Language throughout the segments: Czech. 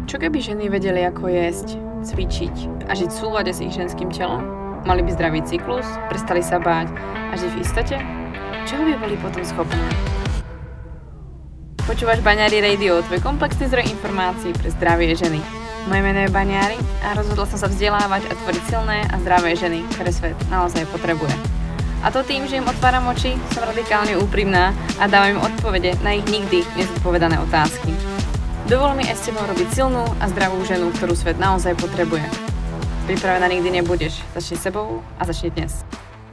Čo keby ženy vedeli, ako jesť, cvičiť a žiť v súlade s ich ženským telom? Mali by zdravý cyklus, prestali sa báť a žiť v istote? Čoho by boli potom schopné? Počúvaš Baňári Radio, tvoj komplexný zdroj informácií pre zdravie ženy. Moje meno je Baňári a rozhodla som sa vzdelávať a tvoriť silné a zdravé ženy, ktoré svet naozaj potrebuje. A to tým, že im otváram oči, som radikálne úprimná a dávam im odpovede na ich nikdy nezodpovedané otázky. Dovol mi aj s tebou robiť silnú a zdravú ženu, ktorú svet naozaj potrebuje. Pripravená nikdy nebudeš. Začni sebou a začni dnes.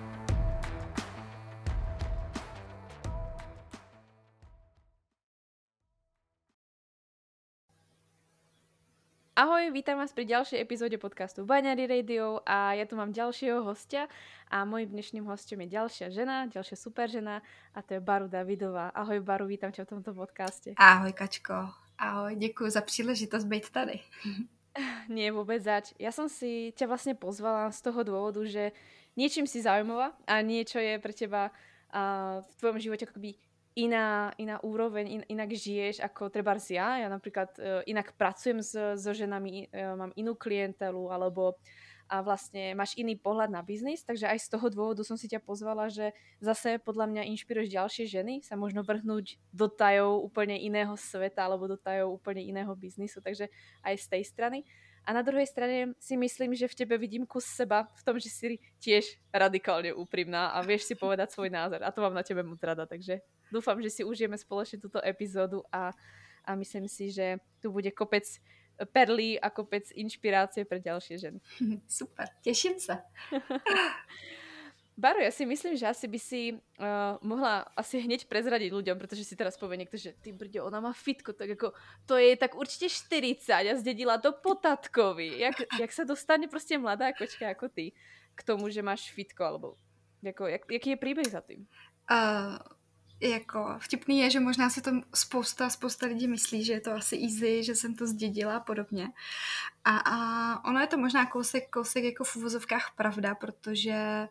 Ahoj, vítam vás pri ďalšej epizóde podcastu Baňári Radio a ja tu mám ďalšieho hostia a mojím dnešným hostom je ďalšia žena, ďalšia super žena a to je Baru Davidová. Ahoj Baru, vítam ťa v tomto podcaste. Ahoj Kačko, ahoj, děkuji za příležitost být tady. Nie, vôbec zač. Ja som si ťa vlastne pozvala z toho dôvodu, že niečím si zaujímavá a niečo je pre teba v tvojom živote akoby iná úroveň, inak žiješ ako trebárs ja. Ja napríklad inak pracujem so ženami, mám inú klientelu alebo a vlastne máš iný pohľad na biznis, takže aj z toho dôvodu som si ťa pozvala, že zase podľa mňa inšpiruješ ďalšie ženy sa možno vrhnúť do tajov úplne iného sveta alebo do tajov úplne iného biznisu, takže aj z tej strany. A na druhej strane si myslím, že v tebe vidím kus seba v tom, že si tiež radikálne úprimná a vieš si povedať svoj názor a to mám na tebe moc rada, takže dúfam, že si užijeme spoločne túto epizódu a myslím si, že tu bude kopec perly a kopec inšpirácie pre ďalšie ženy. Super, teším sa. Baru, ja si myslím, že asi by si mohla asi hneď prezradiť ľuďom, pretože si teraz povie niekto, že ty brďo, ona má fitko, tak ako to je tak určite 40 a zdedila to po tatkovi. Jak sa dostane proste mladá kočka ako ty k tomu, že máš fitko, alebo jaký je príbeh za tým? Jako vtipný je, že možná si to spousta lidí myslí, že je to asi easy, že jsem to zdědila a podobně. A ono je to možná kousek jako v uvozovkách pravda, protože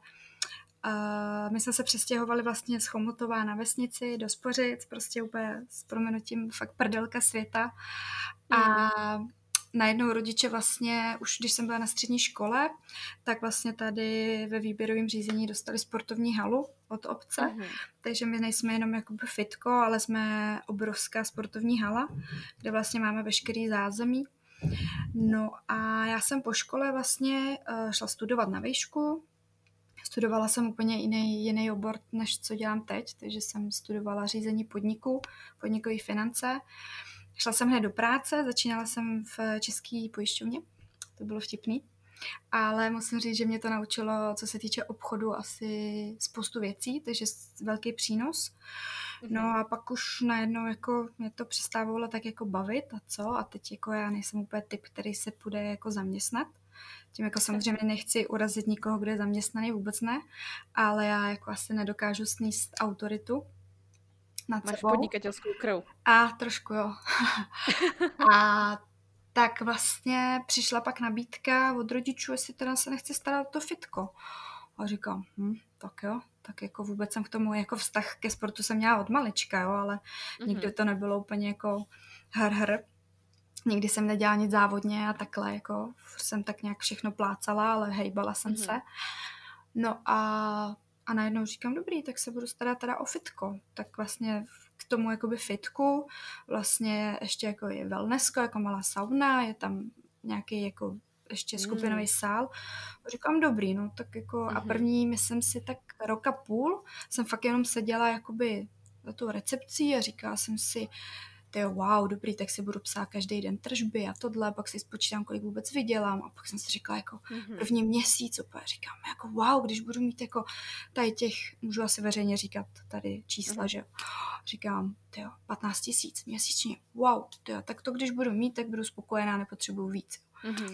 my jsme se přestěhovali vlastně z Chomutová na vesnici do Spořic, prostě úplně s prominutím fakt prdelka světa. A najednou rodiče vlastně, už když jsem byla na střední škole, tak vlastně tady ve výběrovém řízení dostali sportovní halu od obce, takže my nejsme jenom jakoby fitko, ale jsme obrovská sportovní hala, kde vlastně máme veškerý zázemí. No a já jsem po škole vlastně šla studovat na výšku. Studovala jsem úplně jiný obor, než co dělám teď, takže jsem studovala řízení podniku, podnikové finance. Šla jsem hned do práce, začínala jsem v České pojišťovně, to bylo vtipný, ale musím říct, že mě to naučilo, co se týče obchodu, asi spoustu věcí, takže velký přínos. No a pak už najednou jako mě to přestávalo tak jako bavit a co, a teď jako já nejsem úplně typ, který se půjde jako zaměstnat. Tím jako samozřejmě nechci urazit nikoho, kdo je zaměstnaný, vůbec ne, ale já jako asi nedokážu sníst autoritu nad Máš sebou. podnikateľskú krv. A trošku jo. A tak vlastně přišla pak nabídka od rodičů, jestli teda se nechci starat o to fitko. A říkám, tak jo, tak jako vůbec jsem k tomu, jako vztah ke sportu jsem měla od malička, jo, ale nikdy to nebylo úplně jako hr. Nikdy jsem nedělala nic závodně a takhle, jako jsem tak nějak všechno plácala, ale hejbala jsem se. No a najednou říkám, dobrý, tak se budu starat teda o fitko. Tak vlastně k tomu jakoby fitku vlastně ještě jako je wellnessko, jako malá sauna, je tam nějaký jako ještě skupinový sál. Říkám, dobrý, no tak jako a první, myslím si, tak rok a půl jsem fakt jenom seděla jakoby za tou recepcí a říkala jsem si, wow, dobrý, tak si budu psát každý den tržby a tohle, pak si spočítám, kolik vůbec vydělám a pak jsem si říkala jako první měsíc úplně říkám, jako wow, když budu mít jako tady těch, můžu asi veřejně říkat tady čísla, že říkám, 15 000 měsíčně, wow, tak to když budu mít, tak budu spokojená, nepotřebuju víc.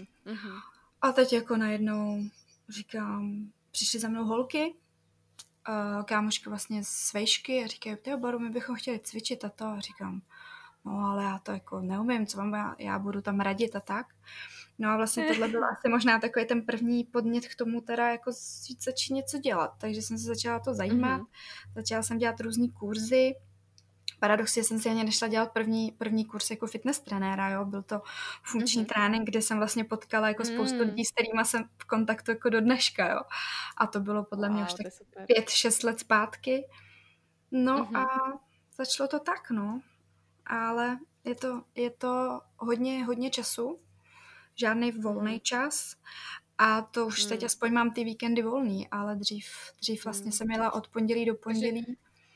A teď jako najednou říkám, přišly za mnou holky, kámošky vlastně z vejšky a říkají, Baru, my bychom chtěli cvičit a to a říkám, no ale já to jako neumím, co vám já budu tam radit a tak. No a vlastně tohle byl asi možná takový ten první podnět k tomu teda jako začít něco dělat. Takže jsem se začala to zajímat, začala jsem dělat různý kurzy, Paradoxně jsem si ani nešla dělat první kurz jako fitness trenéra, jo. Byl to funkční Mhm. trénink, kde jsem vlastně potkala jako spoustu Mm. lidí, s kterýma jsem v kontaktu jako do dneška, jo. A to bylo podle mě už Wow, tak to je super. 5-6 let zpátky. No a Mhm. začalo to tak, no. Ale je to hodně času, žádný volný Mhm. čas. A to už teď Mm. aspoň mám ty víkendy volný, ale dřív vlastně Mm. jsem jela od pondělí do Takže pondělí.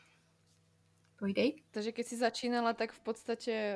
Pojdej. Takže keď si začínala, tak v podstate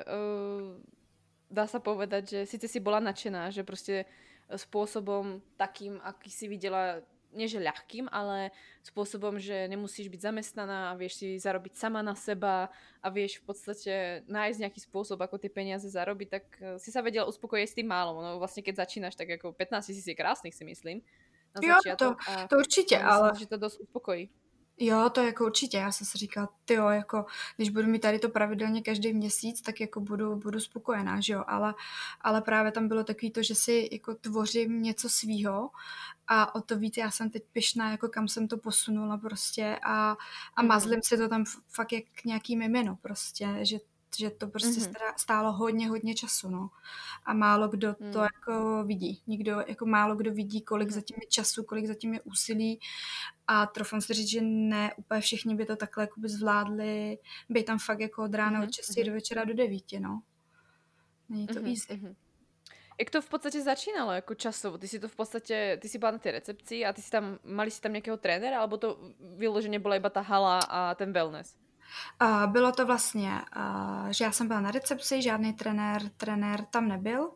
dá sa povedať, že síce si bola nadšená, že proste spôsobom takým, aký si videla, nie že ľahkým, ale spôsobom, že nemusíš byť zamestnaná a vieš si zarobiť sama na seba a vieš v podstate nájsť nejaký spôsob, ako tie peniaze zarobiť, tak si sa vedela uspokojiť s tým málom. No vlastne keď začínaš, tak ako 15 000 je krásnych, si myslím, na Jo, to, začiatok to určitě, a myslím ale si, že to dosť uspokojí. jo, to jako určitě. Já jsem si říkala, tyjo, jako, když budu mít tady to pravidelně každý měsíc, tak jako budu spokojená, že jo, ale právě tam bylo takový to, že si jako tvořím něco svýho a o to víc já jsem teď pyšná, jako kam jsem to posunula prostě a Mhm. mazlím si to tam fakt jak nějaký mimino prostě, že to prostě Mhm. stálo hodně času, no. A málo kdo to Mm. jako vidí. Jako málo kdo vidí, kolik Mhm. zatím je času, kolik zatím je úsilí a trofám si říct, že ne úplně všichni by to takhle jakoby zvládli, být tam fakt jako od rána od Mhm. 6 Mhm. do večera do 9, no. Není to Mhm. easy. Mhm. Jak to v podstate začínalo ako časovo? Ty si to v podstate, ty si bola na tej recepcii a ty si tam, mali si tam nejakého trénera, alebo to vyložene bola iba tá hala a ten wellness? A bylo to vlastně, že já jsem byla na recepci, žádný trenér tam nebyl.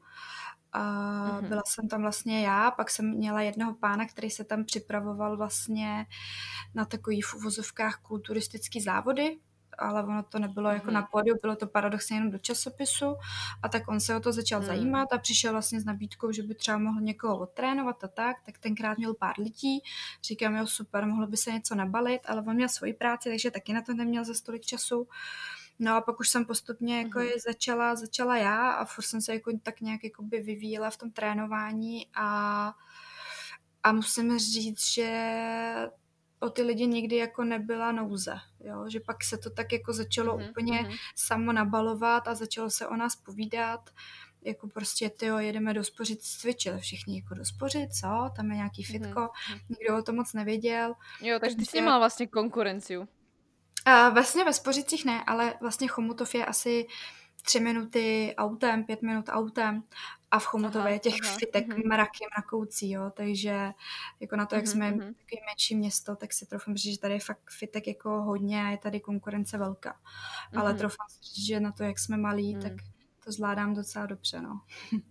Mhm. Byla jsem tam vlastně já, pak jsem měla jednoho pána, který se tam připravoval vlastně na takový v uvozovkách kulturistický závody, ale ono to nebylo jako na Mhm. pódiu, bylo to paradoxně jenom do časopisu a tak on se o to začal Mm. zajímat a přišel vlastně s nabídkou, že by třeba mohl někoho odtrénovat a tak tenkrát měl pár lidí, říkám, jo super, mohlo by se něco nabalit, ale on měl svoji práci, takže taky na to neměl za tolik času. No a pak už jsem postupně jako Mhm. je začala já a furt jsem se jako tak nějak jakoby vyvíjela v tom trénování a musím říct, že o ty lidi nikdy jako nebyla nouze, jo? Že pak se to tak jako začalo Mhm. úplně Mhm. samo nabalovat a začalo se o nás povídat, jako prostě tyjo, jedeme do Spořic cvičit, všichni jako do Spořic, co? Tam je nějaký Mhm. fitko, Mhm. nikdo o tom moc nevěděl, Jo, takže ty si takže nemala vlastne konkurenciu. vlastně ve Spořicích ne, ale vlastně Chomutov je asi 3 minuty autem, 5 minut autem a v Chomutově Aha, je těch aha. fitek Mhm. mraky mrakoucí, jo, takže jako na to, jak Mhm. jsme Mhm. takový menší město, tak si troufám říct, že tady je fakt fitek jako hodně a je tady konkurence velká. Ale Mhm. troufám si říct, že na to, jak jsme malí, tak Mm. to zvládám docela dobře, no.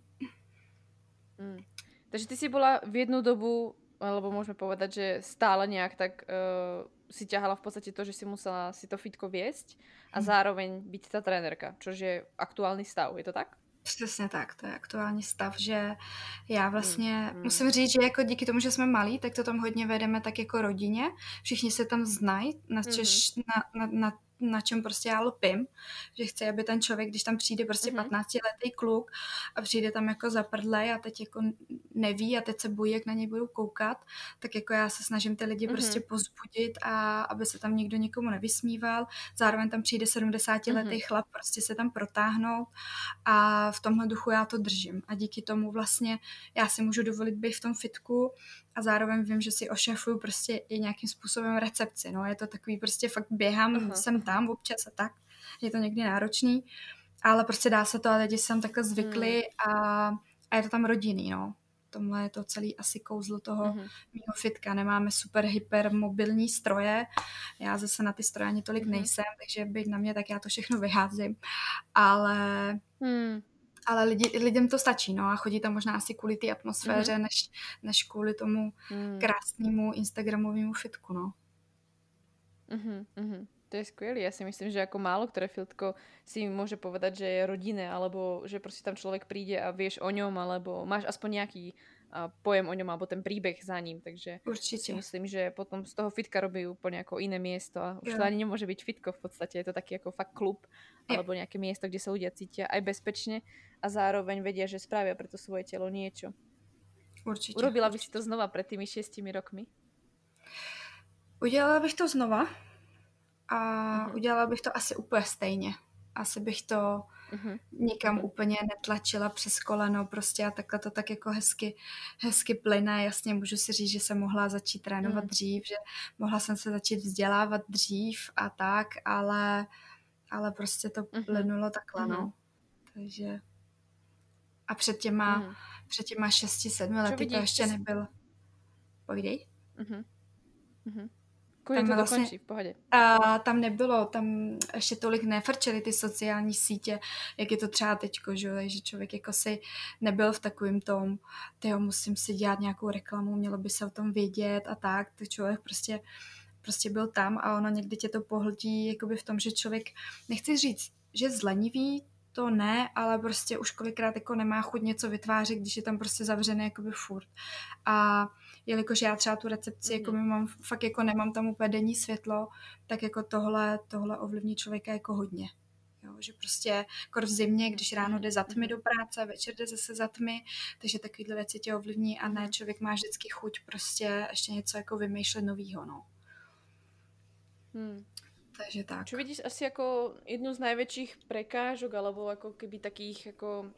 Mm. Takže ty si bola v jednu dobu, alebo môžeme povedať, že stále nejak tak si ťahala v podstate to, že si musela si to fitko viesť a zároveň byť tá trénerka, čo je aktuálny stav, je to tak? Přesně tak, to je aktuální stav, že já Mm. vlastně Mm. musím říct, že jako díky tomu, že jsme malí, tak to tam hodně vedeme tak jako rodině. Všichni se tam znají, Mhm. na čem prostě já lpím, že chci, aby ten člověk, když tam přijde prostě Mhm. 15letý kluk a přijde tam jako zaprdlej a teď jako neví a teď se bojí, jak na něj budou koukat, tak jako já se snažím ty lidi prostě Mhm. pozbudit a aby se tam nikdo nikomu nevysmíval. Zároveň tam přijde 70letý Mhm. chlap prostě se tam protáhnout a v tomhle duchu já to držím. A díky tomu vlastně já si můžu dovolit být v tom fitku a zároveň vím, že si ošefuju prostě i nějakým způsobem recepci. No, je to takový prostě fakt běhám Aha, sem aha. tam občas a tak. Je to někdy náročný, ale prostě dá se to a lidi se tam takhle Mm. zvykli a je to tam rodinný, no. Tomhle je to celý asi kouzlo toho Mhm. mýho fitka. Nemáme super hypermobilní stroje. Já zase na ty stroje ani tolik Mhm. nejsem, takže být na mě, tak já to všechno vyházím. Ale Mm. ale lidem to stačí, no a chodí tam možná asi kvůli té Mhm. atmosféře, než kvůli tomu Mm. krásnému instagramovému fitku, no. Mhm. Mhm. To je skvělé. Ja si myslím, že ako málo ktoré fitko si môže povedať, že je rodinné, alebo že proste tam človek príde a vieš o ňom, alebo máš aspoň nejaký pojem o ňom, alebo ten príbeh za ním. Takže si Určitě. myslím, že potom z toho fitka robí úplne ako iné miesto a už to Jo. ani nemôže byť fitko v podstate. Je to taký ako fakt klub, Jo, alebo nejaké miesto, kde sa ľudia cítia aj bezpečne a zároveň vedia, že spravia pre to svoje telo niečo. určitě, Urobila by si to určitě. znova pred tými 6 rokmi? Udělala bych to znova, a Mhm. udělala bych to asi úplně stejně. Asi bych to Mhm. nikam Mhm. úplně netlačila přes koleno prostě a takhle to tak jako hezky plyne. Jasně můžu si říct, že jsem mohla začít trénovat Mm. dřív, že mohla jsem se začít vzdělávat dřív a tak, ale prostě to Mhm. plynulo takhle, Mhm. no. Takže a před těma 6-7 Čo lety to vidíš? ještě nebyl. Povídej. Mhm. Mhm. Kľudne Tam to vlastně dokončí, v pohode. tam nebylo, tam ještě tolik nefrčely ty sociální sítě, jak je to třeba teďko, že člověk jako si nebyl v takovým tom, tyjo, musím si dělat nějakou reklamu, mělo by se o tom vědět a tak, to člověk prostě byl tam a ono někdy tě to pohltí jakoby v tom, že člověk, nechci říct, že zlenivý, to ne, ale prostě už kolikrát jako nemá chuť něco vytvářet, když je tam prostě zavřený jakoby furt. A jelikož já třeba tu recepci jako Mhm. mám, fakt jako nemám tam úplně denní světlo, tak jako tohle ovlivní člověka jako hodně. Jo, že prostě kor v zimě, když ráno jde za tmy Mhm. do práce, večer jde zase za tmy, takže takovýhle věci tě ovlivní a ne, Mhm. člověk má vždycky chuť prostě ještě něco jako vymýšlet novýho, no. Hmm. Takže tak. Čo vidíš asi ako jednu z najväčších prekážok, alebo ako keby takých ako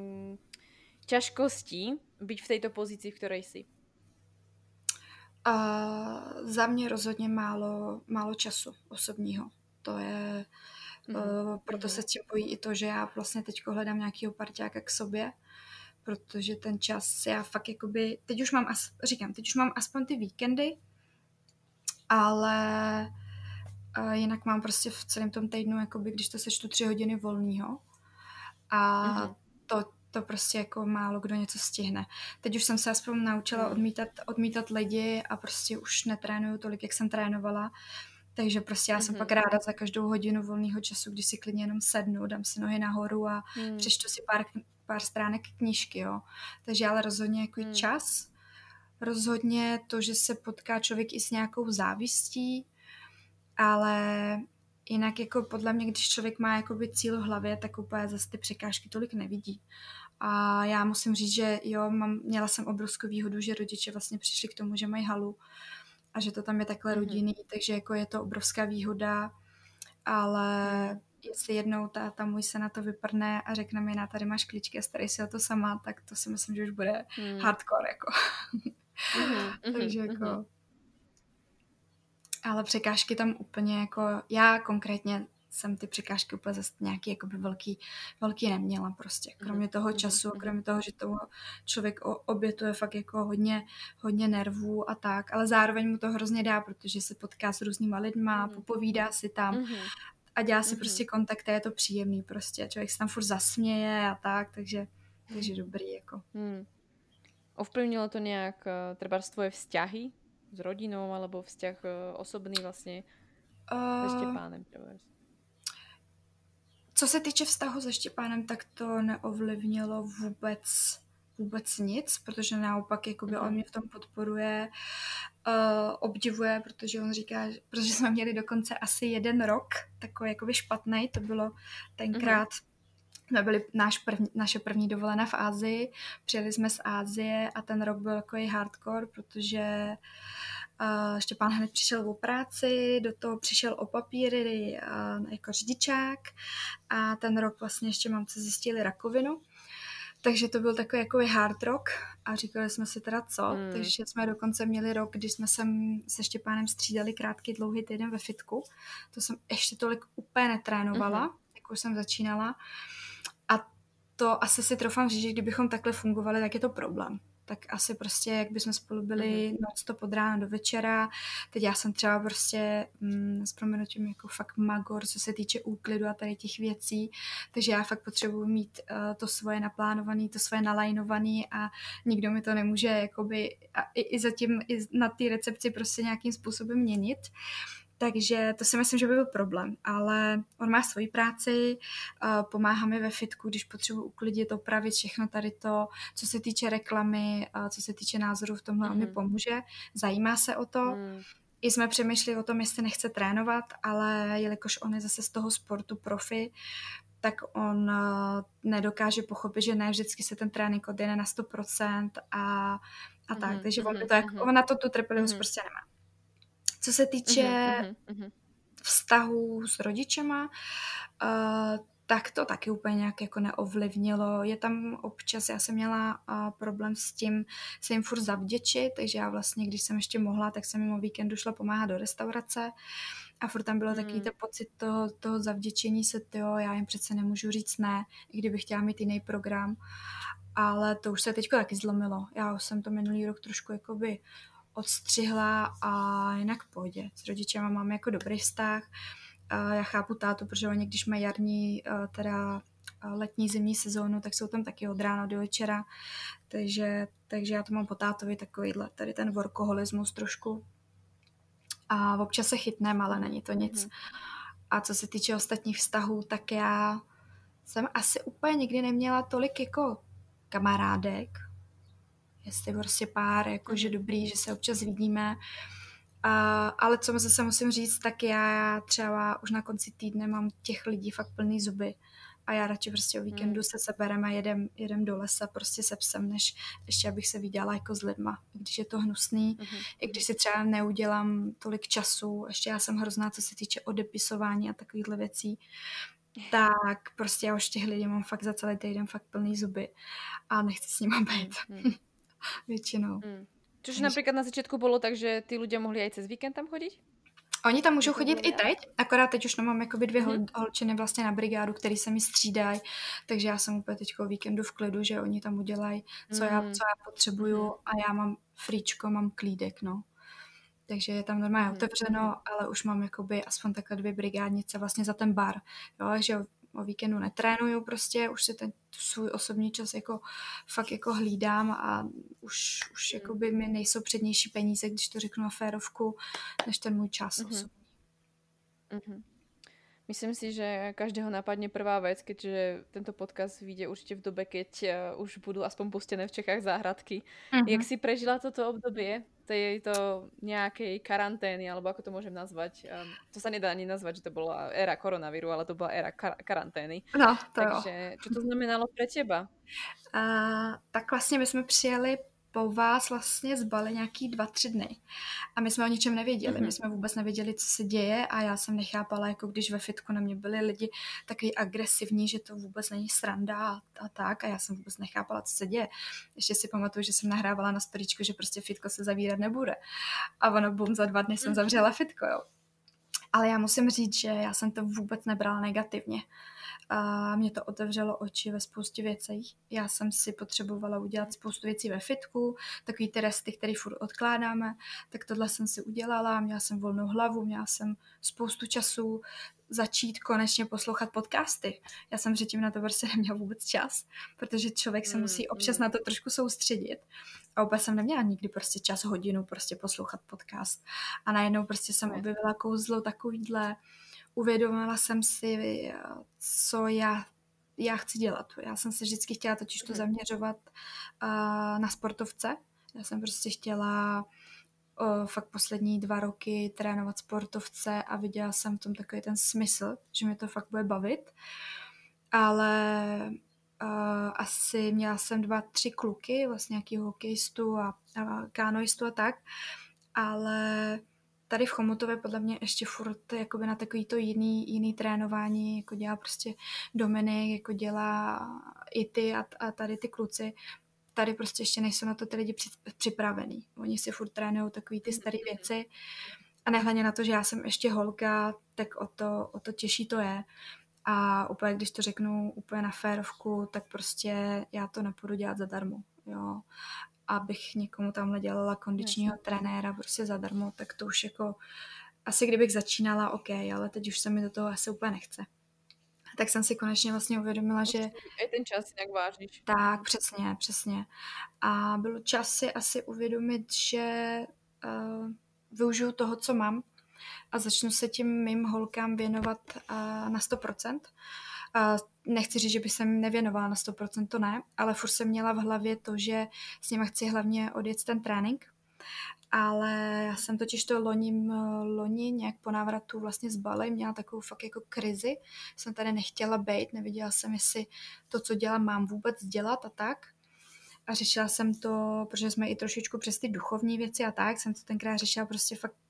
ťažkostí byť v tejto pozícii, v ktorej si? A za mě rozhodně málo času osobního. To je, Mhm. proto Mhm. se tím bojí i to, že já vlastně teď hledám nějakýho parťáka k sobě, protože ten čas já fakt jakoby, teď už mám aspoň ty víkendy, ale jinak mám prostě v celém tom týdnu, jakoby, když to sečtu 3 hodiny volného a Mhm. to prostě jako málo kdo něco stihne. Teď už jsem se aspoň naučila Hmm. odmítat lidi a prostě už netrénuju tolik, jak jsem trénovala. Takže prostě já jsem Mhm. pak ráda za každou hodinu volného času, když si klidně jenom sednu, dám si nohy nahoru a Hmm. přečtu si pár stránek knížky, jo. Takže ale rozhodně jako Hmm. čas, rozhodně to, že se potká člověk i s nějakou závistí, ale jinak jako podle mě, když člověk má jakoby cíl v hlavě, tak úplně zase ty překážky tolik nevidí. A já musím říct, že jo, měla jsem obrovskou výhodu, že rodiče vlastně přišli k tomu, že mají halu a že to tam je takhle Mhm. rodinný, takže jako je to obrovská výhoda, ale Hmm. jestli jednou táta můj se na to vyprne a řekne mi, tady máš klíčky a starej si o to sama, tak to si myslím, že už bude Hmm. hardcore, jako. Mhm. Mhm. Takže Mhm. jako, ale překážky tam úplně jako, já konkrétně jsem ty překážky úplně zase nějaký jakoby velký neměla prostě. Kromě toho času, Mhm. kromě toho, že toho člověk obětuje fakt jako hodně nervů a tak, ale zároveň mu to hrozně dá, protože se potká s různýma lidma, Mhm. popovídá si tam Mhm. a dělá si Mhm. prostě kontakt a je to příjemný prostě. Člověk se tam furt zasměje a tak, takže dobrý jako. Hmm. Ovplyvnilo to nejak trebárs tvoje vzťahy s rodinou alebo vzťah osobný vlastne se Uh, Štepánem trebárs? Co se týče vztahu se Štěpánem, tak to neovlivnilo vůbec nic, protože naopak jakoby on mě v tom podporuje, obdivuje, protože on říká, protože jsme měli dokonce asi 1 rok takový jakoby špatnej, to bylo tenkrát, jsme byli naše první dovolená v Asii, přijeli jsme z Asie a ten rok byl takový hardcore, protože Štěpán hned přišel o práci, do toho přišel o papíry jako řidičák a ten rok vlastně ještě mamce zjistili rakovinu. Takže to byl takový jako hard rock a říkali jsme si teda co, takže jsme dokonce měli rok, kdy jsme se Štěpánem střídali krátký dlouhý týden ve fitku. To jsem ještě tolik úplně netrénovala, jak už jsem začínala. A to asi si troufám říct, že kdybychom takhle fungovali, tak je to problém. Tak asi prostě, jak bychom spolu byli non-stop od rána do večera. Teď já jsem třeba prostě s proměnutím jako fakt magor, co se týče úklidu a tady těch věcí. Takže já fakt potřebuji mít to svoje naplánované, to svoje nalajnované a nikdo mi to nemůže jakoby i zatím i na té recepci prostě nějakým způsobem měnit. Takže to si myslím, že by byl problém, ale on má svoji práci, pomáhá mi ve fitku, když potřebuji uklidit, opravit všechno tady to, co se týče reklamy, co se týče názorů v tomhle, on mi pomůže, zajímá se o to. I jsme přemýšleli o tom, jestli nechce trénovat, ale jelikož on je zase z toho sportu profi, tak on nedokáže pochopit, že ne vždycky se ten trénink odjene na 100% a tak, takže on na to tu trpělivost prostě nemá. Co se týče vztahu s rodičema, tak to taky úplně nějak jako neovlivnilo. Je tam občas, já jsem měla problém s tím se jim furt zavděčit, takže já vlastně, když jsem ještě mohla, tak jsem jim o víkendu šla pomáhat do restaurace a furt tam bylo takový to pocit toho zavděčení se, já jim přece nemůžu říct ne, i kdybych chtěla mít jiný program. Ale to už se teďko taky zlomilo. Já už jsem to minulý rok trošku jakoby odstřihla a jinak v pohodě. S rodičema mám jako dobrý vztah. Já chápu tátu, protože oni, když mají jarní, teda letní, zimní sezónu, tak jsou tam taky od rána do večera. Takže já to mám po tátovi takovýhle, tady ten workoholismus trošku. A občas se chytnem, ale není to nic. A co se týče ostatních vztahů, tak já jsem asi úplně nikdy neměla tolik jako kamarádek. Jestli prostě pár, jakože dobrý, že se občas vidíme. Ale co zase musím říct, tak já třeba už na konci týdne mám těch lidí fakt plný zuby. A já radši prostě o víkendu se seberem a jedem do lesa prostě se psem, než ještě abych se viděla jako s lidma. I když je to hnusný, i když si třeba neudělám tolik času, ještě já jsem hrozná, co se týče odepisování a takovýchhle věcí, tak prostě já už těch lidí mám fakt za celý týden fakt plný zuby a nechci s nima být. Většinou. Čož napríklad na začiatku bolo tak, že tí ľudia mohli aj cez víkend tam chodiť? Oni tam můžou chodit i teď, akorát teď už mám jakoby 2 holčiny vlastně na brigádu, který se mi střídají, takže já jsem úplně teď o víkendu v klidu, že oni tam udělají, co já potřebuju a já mám fríčko, mám klídek, no. Takže je tam normálně otevřeno, ale už mám jakoby aspoň takhle 2 brigádnice vlastně za ten bar, jo, že o víkendu netrénuju prostě, už si ten svůj osobní čas jako fakt jako hlídám a už jakoby mi nejsou přednější peníze, když to řeknu na férovku, než ten můj čas osobní. Myslím si, že každého napadne prvá vec, keďže tento podcast vyjde určite v dobe, keď už budú aspoň pustené v Čechách záhradky. Jak si prežila toto obdobie tejto nejakej karantény, alebo ako to môžem nazvať? To sa nedá ani nazvať, že to bola éra koronavíru, ale to bola éra karantény. No, to Takže čo to znamenalo pre teba? Tak vlastně my jsme přijeli po vás vlastně z Bali nějaký 2-3 dny. A my jsme o ničem nevěděli. My jsme vůbec nevěděli, co se děje a já jsem nechápala, jako když ve fitku na mě byli lidi takový agresivní, že to vůbec není sranda a tak. A já jsem vůbec nechápala, co se děje. Ještě si pamatuju, že jsem nahrávala na storíčko, že prostě fitko se zavírat nebude. A ono bum, za 2 dny jsem zavřela fitko, jo. Ale já musím říct, že já jsem to vůbec nebrala negativně. A mě to otevřelo oči ve spoustě věcí. Já jsem si potřebovala udělat spoustu věcí ve fitku, takový ty resty, které furt odkládáme, tak tohle jsem si udělala, měla jsem volnou hlavu, měla jsem spoustu času začít konečně poslouchat podcasty. Já jsem předtím na to prostě neměla vůbec čas, protože člověk se musí občas na to trošku soustředit. A vůbec jsem neměla nikdy prostě čas, hodinu prostě poslouchat podcast. A najednou prostě jsem objevila kouzlo takovýhle. Uvědomila jsem si, co já chci dělat. Já jsem se vždycky chtěla totiž to zaměřovat na sportovce. Já jsem prostě chtěla fakt poslední 2 roky trénovat sportovce a viděla jsem v tom takový ten smysl, že mi to fakt bude bavit. Ale asi měla jsem 2-3 kluky, vlastně nějaký hokejistu a kánoistu a tak, ale tady v Chomutově podle mě ještě furt jakoby na takový to jiný trénování, jako dělá prostě Dominik, jako dělá i ty a tady ty kluci. Tady prostě ještě nejsou na to ty lidi připravený. Oni si furt trénují takový ty staré věci a nehledně na to, že já jsem ještě holka, tak o to těžší to je. A úplně, když to řeknu úplně na férovku, tak prostě já to nepůjdu dělat zadarmo, jo. Abych někomu tamhle dělala kondičního trenéra prostě zadarmo, tak to už jako asi kdybych začínala, OK, ale teď už se mi do toho asi úplně nechce. Tak jsem si konečně vlastně uvědomila, že... I ten čas nějak vážíš. Tak, přesně. A bylo čas si asi uvědomit, že využiju toho, co mám a začnu se tím mým holkám věnovat na 100%. Nechci říct, že bych se jim nevěnovala na 100%, to ne, ale furt jsem měla v hlavě to, že s nima chci hlavně odjet ten trénink. Ale já jsem totiž to loni nějak po návratu vlastně z Bali měla takovou fakt jako krizi. Jsem tady nechtěla bejt, nevěděla jsem, jestli to, co dělám, mám vůbec dělat a tak. A řešila jsem to, protože jsme i trošičku přes ty duchovní věci a tak, jsem to tenkrát řešila prostě fakt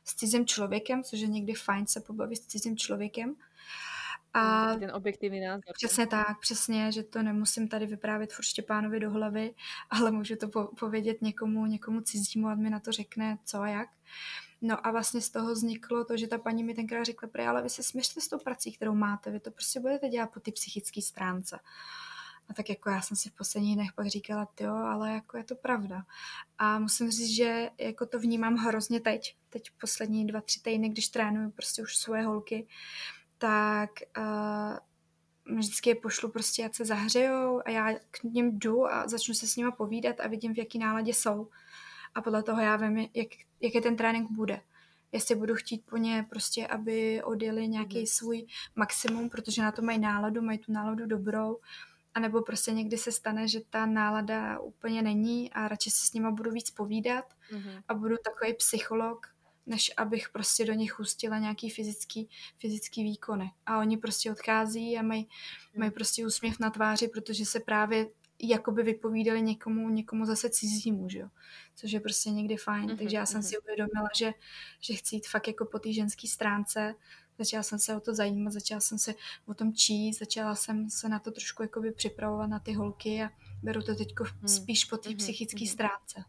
s cizím člověkem, což je někdy fajn se pobavit s cizím člověkem. A Taký ten objektívny názor. přesně tak, přesně, že to nemusím tady vyprávět furt Štěpánovi do hlavy, ale můžu to povědět někomu cizímu, a mi na to řekne co a jak. No a vlastně z toho vzniklo to, že ta paní mi tenkrát řekla, ale vy se směřte s tou prací, kterou máte, vy to prostě budete dělat po ty psychické stránce. A tak jako já jsem si v posledních dnech pak říkala, jo, ale jako je to pravda. A musím říct, že jako to vnímám hrozně teď poslední 2-3 týdny, když trénuju prostě už svoje holky, tak vždycky je pošlu prostě, ať se zahřejou a já k ním jdu a začnu se s nima povídat a vidím, v jaký náladě jsou. A podle toho já vím, jaký ten trénink bude. Jestli budu chtít po ně prostě, aby odjeli nějaký svůj maximum, protože na to mají tu náladu dobrou, anebo prostě někdy se stane, že ta nálada úplně není a radši se s nima budu víc povídat a budu takový psycholog, než abych prostě do nich hustila nějaký fyzický výkony. A oni prostě odchází a mají prostě úsměv na tváři, protože se právě jakoby vypovídali někomu zase cizímu, že jo? Což je prostě někdy fajn. Takže já jsem si uvědomila, že chci jít fakt jako po té ženské stránce. Začala jsem se o to zajímat, začala jsem se o tom číst, začala jsem se na to trošku jakoby připravovat na ty holky a beru to teď spíš po té psychické stránce.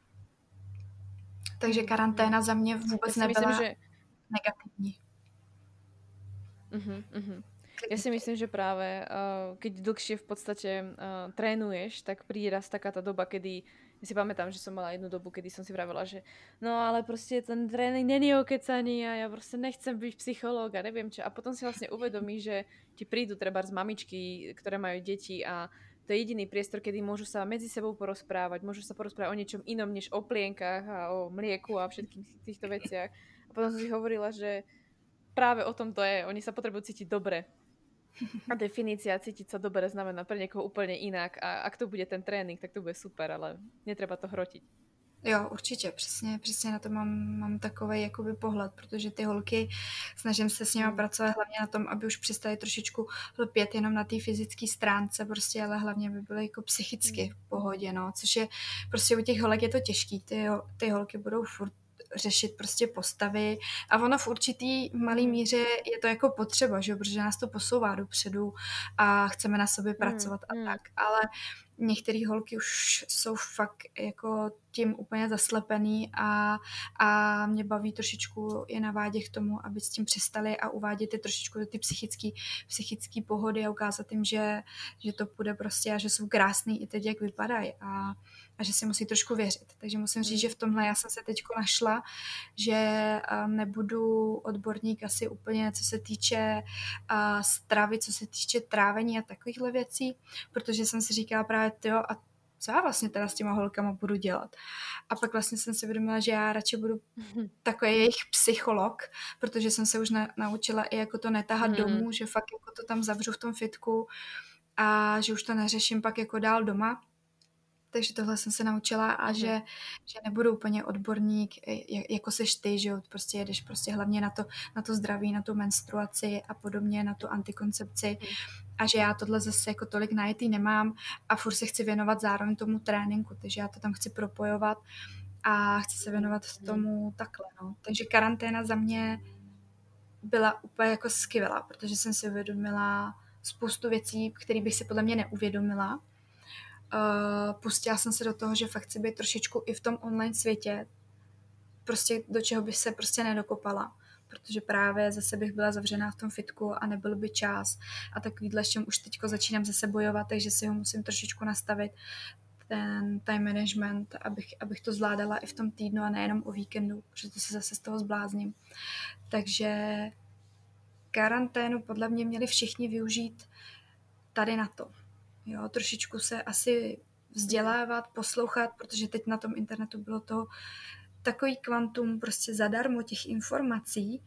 Takže karanténa za mě vůbec nebyla negativní. Ja si myslím, že práve keď dlhšie v podstate trénuješ, tak príde raz taká tá doba, kedy ja si pamätám, že som mala jednu dobu, kedy som si vravela, že no ale proste ten tréning není okecaný a ja proste nechcem byť psychológ a neviem čo. A potom si vlastne uvedomíš, že ti prídu trebárs mamičky, ktoré majú deti a to je jediný priestor, kedy môžu sa medzi sebou porozprávať, môžu sa porozprávať o niečom inom než o plienkach a o mlieku a všetkých týchto veciach. A potom som si hovorila, že práve o tom to je. Oni sa potrebujú cítiť dobre. A definícia cítiť sa dobre znamená pre niekoho úplne inak. A ak to bude ten trénink, tak to bude super, ale netreba to hrotiť. Jo, určitě, přesně na to mám takovej jakoby pohled, protože ty holky, snažím se s nimi pracovat hlavně na tom, aby už přestali trošičku lpět jenom na té fyzické stránce, prostě, ale hlavně by byly jako psychicky v pohodě, no, což je, prostě u těch holek je to těžký, ty holky budou furt řešit prostě postavy a ono v určitý malý míře je to jako potřeba, že? Protože nás to posouvá dopředu a chceme na sobě pracovat a tak, ale některé holky už jsou fakt jako tím úplně zaslepený a mě baví trošičku je navádět k tomu, aby s tím přestali a uvádět je trošičku do ty psychické pohody a ukázat jim, že to půjde prostě a že jsou krásný i teď, jak vypadají a že si musí trošku věřit. Takže musím říct, že v tomhle já jsem se teďko našla, že nebudu odborník asi úplně, co se týče stravy, co se týče trávení a takovýchhle věcí, protože jsem si říkala právě, a co já vlastně teda s těma holkama budu dělat. A pak vlastně jsem si uvědomila, že já radši budu takový jejich psycholog, protože jsem se už naučila i jako to netahat domů, že fakt jako to tam zavřu v tom fitku a že už to neřeším pak jako dál doma. Takže tohle jsem se naučila a že nebudu úplně odborník, jako seš ty, že prostě jedeš prostě hlavně na to zdraví, na tu menstruaci a podobně, na tu antikoncepci a že já tohle zase jako tolik najetý nemám a furt se chci věnovat zároveň tomu tréninku, takže já to tam chci propojovat a chci se věnovat tomu takhle, no. Takže karanténa za mě byla úplně jako skvělá, protože jsem si uvědomila spoustu věcí, které bych si podle mě neuvědomila. Pustila jsem se do toho, že fakt chci být trošičku i v tom online světě, prostě do čeho bych se prostě nedokopala, protože právě zase bych byla zavřená v tom fitku a nebyl by čas a takovýhle, s čím už teďko začínám zase bojovat, takže si ho musím trošičku nastavit, ten time management, abych to zvládala i v tom týdnu a nejenom o víkendu, protože to se zase z toho zblázním. Takže karanténu podle mě měli všichni využít tady na to. Jo, trošičku se asi vzdělávat, poslouchat, protože teď na tom internetu bylo to takový kvantum prostě zadarmo těch informací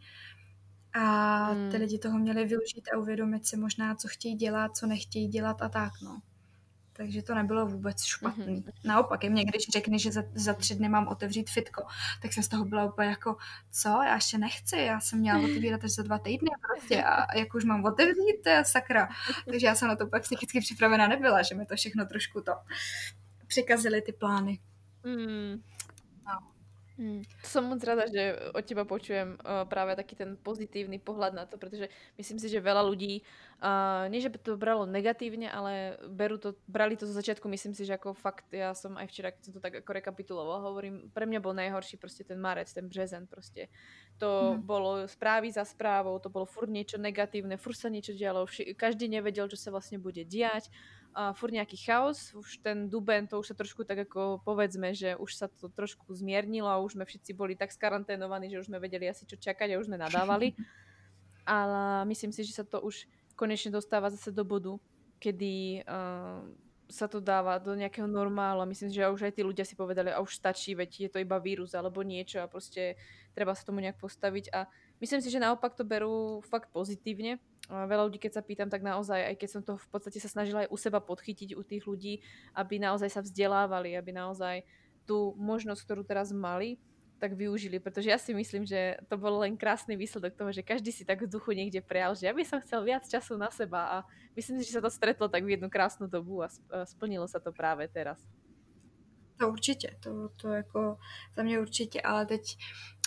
a ty lidi toho měli využít a uvědomit si možná, co chtějí dělat, co nechtějí dělat a tak, no. Takže to nebylo vůbec špatný. Naopak, je mě, když řekne, že za 3 dny mám otevřít fitko, tak jsem z toho byla úplně jako, co, já ještě nechci, já jsem měla otevírat až za 2 týdny prostě a jak už mám otevřít, to je sakra. Takže já jsem na to pak psychicky připravená nebyla, že mi to všechno trošku to překazily ty plány. No. To som moc rada, že od teba počujem práve taký ten pozitívny pohľad na to, pretože myslím si, že veľa ľudí, nie že by to bralo negatívne, ale brali to zo začiatku, myslím si, že ako fakt, ja som aj včera, keď som to tak ako rekapitulovala, hovorím, pre mňa bol najhorší proste ten marec, ten březen proste. To Mhm. bolo správy za správou, to bolo furt niečo negatívne, furt sa niečo dialo, každý nevedel, čo sa vlastne bude diať, furt nejaký chaos. Už ten duben, to už sa trošku tak ako povedzme, že už sa to trošku zmiernilo a už sme všetci boli tak skaranténovaní, že už sme vedeli asi čo čakať a už sme nadávali. Ale myslím si, že sa to už konečne dostáva zase do bodu, kedy sa to dáva do nejakého normálu a myslím si, že už aj tí ľudia si povedali, a už stačí, veď je to iba vírus alebo niečo a proste treba sa tomu nejak postaviť a myslím si, že naopak to berú fakt pozitívne. A veľa ľudí, keď sa pýtam, tak naozaj, aj keď som to v podstate sa snažila aj u seba podchytiť u tých ľudí, aby naozaj sa vzdelávali, aby naozaj tú možnosť, ktorú teraz mali, tak využili, pretože ja si myslím, že to bol len krásny výsledok toho, že každý si tak v duchu niekde prejal, že ja by som chcel viac času na seba a myslím si, že sa to stretlo tak v jednu krásnu dobu a splnilo sa to práve teraz. To určitě, to jako za mě určitě, ale teď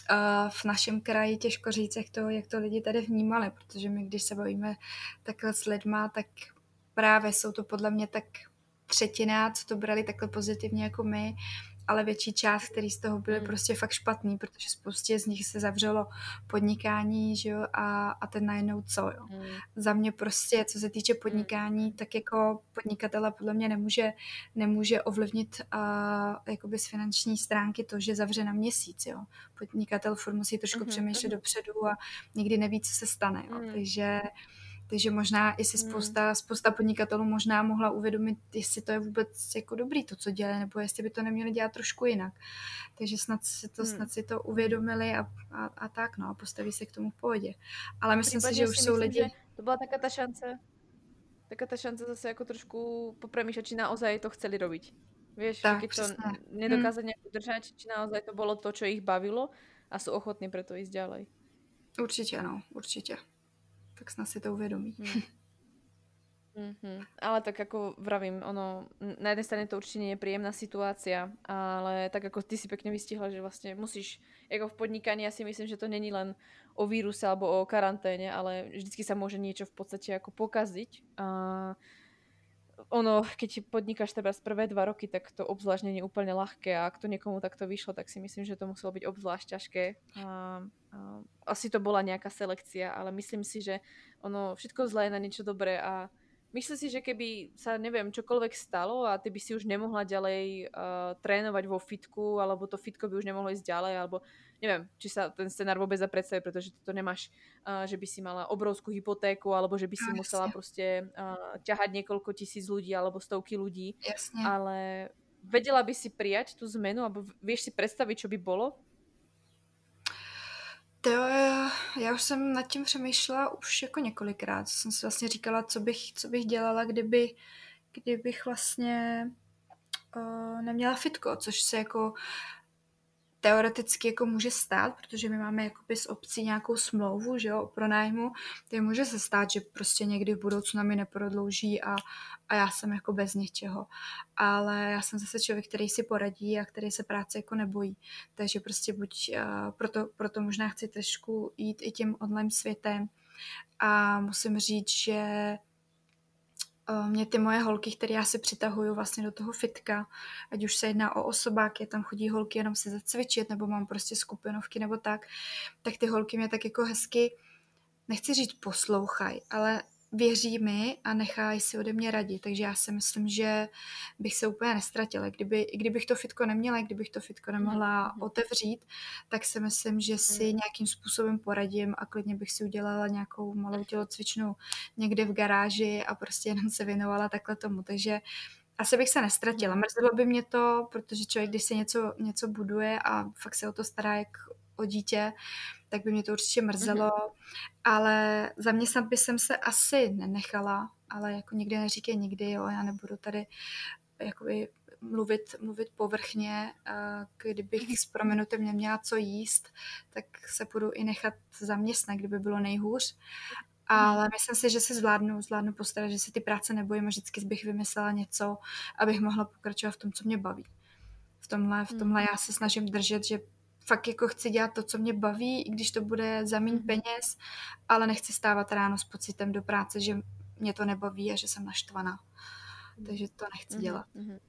v našem kraji těžko říct, jak to lidi tady vnímali, protože my, když se bavíme takhle s lidma, tak právě jsou to podle mě tak třetina, co to brali takhle pozitivně jako my, ale větší část, který z toho byly prostě fakt špatný, protože spoustě z nich se zavřelo podnikání, že jo, a ten najednou co, jo. Za mě prostě, co se týče podnikání, tak jako podnikatele podle mě nemůže ovlivnit jakoby z finanční stránky to, že zavře na měsíc, jo. Podnikatel furt musí trošku přemýšlet dopředu a nikdy neví, co se stane, jo. Takže možná i si spousta podnikatelů možná mohla uvědomit, jestli to je vůbec jako dobrý to, co dělají, nebo jestli by to neměli dělat trošku jinak. Takže snad si to uvědomili a tak, no, a postaví se k tomu v pohodě. Ale myslím si, Prípadne že už si jsou myslím, že lidi... to bola taká tá šanca zase ako trošku popremýšľať, či naozaj to chceli robiť. Vieš, že Tak, keď to přesně. nedokázať nejak udržať, či naozaj to bolo to, čo ich bavilo a sú ochotní preto ísť ďalej. Určitě, no, určitě. Tak snad si to uvědomí. Ale tak ako vravím, na jednej strane to určite nie je príjemná situácia, ale tak ako ty si pekne vystihla, že vlastne musíš, ako v podnikaní, ja si myslím, že to není len o víruse alebo o karanténe, ale vždycky sa môže niečo v podstate ako pokaziť. A keď podnikáš treba z prvé 2 roky, tak to obzvlášť nie je úplne ľahké a ak to niekomu takto vyšlo, tak si myslím, že to muselo byť obzvlášť ťažké. Asi to bola nejaká selekcia, ale myslím si, že všetko zlé je na niečo dobré a myslím si, že keby sa, neviem, čokoľvek stalo a ty by si už nemohla ďalej trénovať vo fitku, alebo to fitko by už nemohlo ísť ďalej, alebo neviem, či sa ten scenár vôbec dá predstaviť, pretože to nemáš, že by si mala obrovskú hypotéku, alebo že by si No, musela jasně, proste ťahať niekoľko tisíc ľudí, alebo stovky ľudí, jasně. ale vedela by si prijať tú zmenu, alebo vieš si predstaviť, čo by bolo? To já už jsem nad tím přemýšlela už jako několikrát. Jsem si vlastně říkala, co bych dělala, kdybych vlastně neměla fitko, což se jako teoreticky jako může stát, protože my máme jakoby s obcí nějakou smlouvu, že jo, o pronájmu, takže může se stát, že prostě někdy v budoucnu mi neprodlouží a já jsem jako bez něčeho. Ale já jsem zase člověk, který si poradí a který se práce jako nebojí. Takže prostě proto možná chci trošku jít i tím online světem a musím říct, že mě ty moje holky, které já si přitahuju vlastně do toho fitka, ať už se jedná o osobáky, tam chodí holky jenom se zacvičit, nebo mám prostě skupinovky nebo tak ty holky mě tak jako hezky, nechci říct poslouchaj, ale věří mi a nechají si ode mě radit, takže já si myslím, že bych se úplně nestratila. Kdybych to fitko neměla, kdybych to fitko nemohla otevřít, tak si myslím, že si nějakým způsobem poradím a klidně bych si udělala nějakou malou tělocvičnu někde v garáži a prostě jenom se věnovala takhle tomu. Takže asi bych se nestratila. Mrzelo by mě to, protože člověk, když se něco buduje a fakt se o to stará jak o dítě, tak by mě to určitě mrzelo, ale zaměstnat by jsem se asi nenechala, ale jako nikdy neříkej nikdy, jo, já nebudu tady jakoby mluvit povrchně, kdybych s proměnutem neměla co jíst, tak se budu i nechat zaměstnat, kdyby bylo nejhůř. Ale myslím si, že si zvládnu postarat, že si ty práce nebojím a vždycky bych vymyslela něco, abych mohla pokračovat v tom, co mě baví. V tomhle já se snažím držet, že fakt jako chci dělat to, co mě baví, i když to bude za méně peněz, ale nechci stávat ráno s pocitem do práce, že mě to nebaví a že jsem naštvaná. Takže to nechci dělat.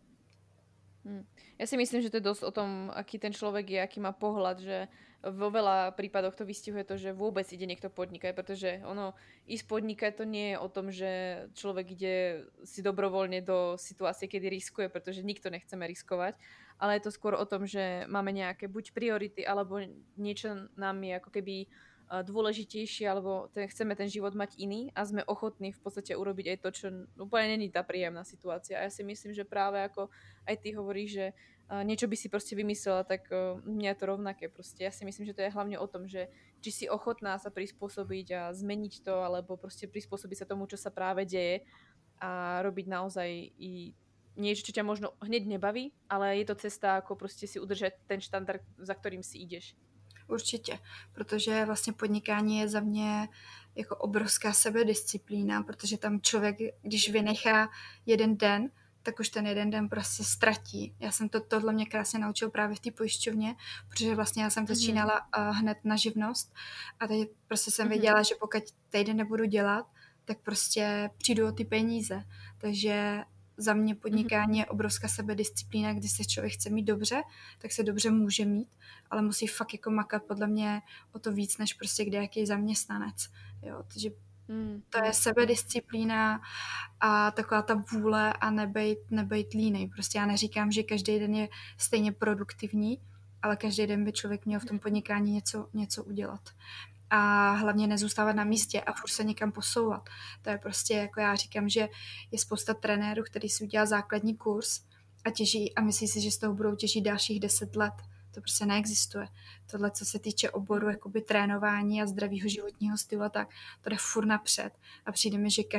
Ja si myslím, že to je dosť o tom, aký ten človek je, aký má pohľad, že vo veľa prípadoch to vystihuje to, že vôbec ide niekto podnikať, pretože ono, ísť podnikať to nie je o tom, že človek ide si dobrovoľne do situácie, kedy riskuje, pretože nikto nechceme riskovať, ale je to skôr o tom, že máme nejaké buď priority, alebo niečo nám je ako keby dôležitejšie, alebo chceme ten život mať iný a sme ochotní v podstate urobiť aj to, čo úplne není tá príjemná situácia. A ja si myslím, že práve ako aj ty hovoríš, že niečo by si proste vymyslela, tak mňa je to rovnaké proste. Ja si myslím, že to je hlavne o tom, že či si ochotná sa prispôsobiť a zmeniť to, alebo proste prispôsobiť sa tomu, čo sa práve deje a robiť naozaj i niečo, čo ťa možno hneď nebaví, ale je to cesta, ako proste si udržať ten štandard, za ktorým si ideš. Určitě, protože vlastně podnikání je za mě jako obrovská sebedisciplína, protože tam člověk, když vynechá jeden den, tak už ten jeden den prostě ztratí. Já jsem tohle mě krásně naučil právě v té pojišťovně, protože vlastně já jsem začínala hned na živnost a teď prostě jsem věděla, že pokud týden nebudu dělat, tak prostě přijdu o ty peníze. Takže za mě podnikání je obrovská sebedisciplína, když se člověk chce mít dobře, tak se dobře může mít, ale musí fakt jako makat podle mě o to víc, než prostě kdejaký zaměstnanec. Jo, takže to je sebedisciplína a taková ta vůle a nebejt línej. Prostě já neříkám, že každý den je stejně produktivní, ale každý den by člověk měl v tom podnikání něco udělat. A hlavně nezůstávat na místě a furt se někam posouvat. To je prostě, jako já říkám, že je spousta trenérů, který si udělá základní kurz a těží a myslí si, že z toho budou těžit dalších 10 let. To prostě neexistuje. Tohle, co se týče oboru jakoby trénování a zdravého životního stylu a tak, to jde furt napřed. A přijde mi, že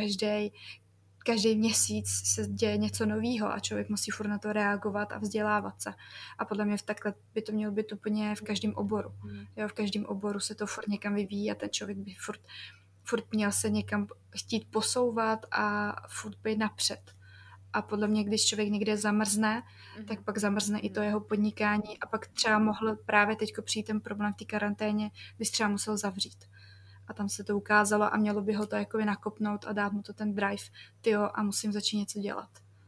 každý měsíc se děje něco nového a člověk musí furt na to reagovat a vzdělávat se. A podle mě takhle by to mělo být úplně v každém oboru. Jo, v každém oboru se to furt někam vyvíjí a ten člověk by furt měl se někam chtít posouvat a furt být napřed. A podle mě, když člověk někde zamrzne, tak pak zamrzne i to jeho podnikání a pak třeba mohl právě teďko přijít ten problém v té karanténě, když třeba musel zavřít. A tam se to ukázalo a mělo by ho to jakoby nakopnout a dát mu to ten drive, tyjo, a musím začít něco dělat.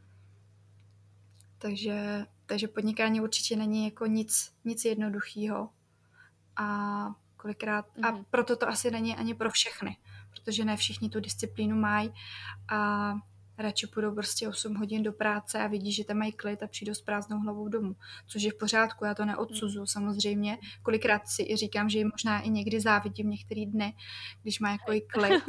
Takže podnikání určitě není jako nic jednoduchého. A kolikrát, a proto to asi není ani pro všechny, protože ne všichni tu disciplínu mají a radši půjdou prostě 8 hodin do práce a vidí, že tam mají klid a přijdou s prázdnou hlavou domů. Což je v pořádku, já to neodsuzuju samozřejmě. Kolikrát si i říkám, že jim možná i někdy závidím některý dny, když má jako i klid,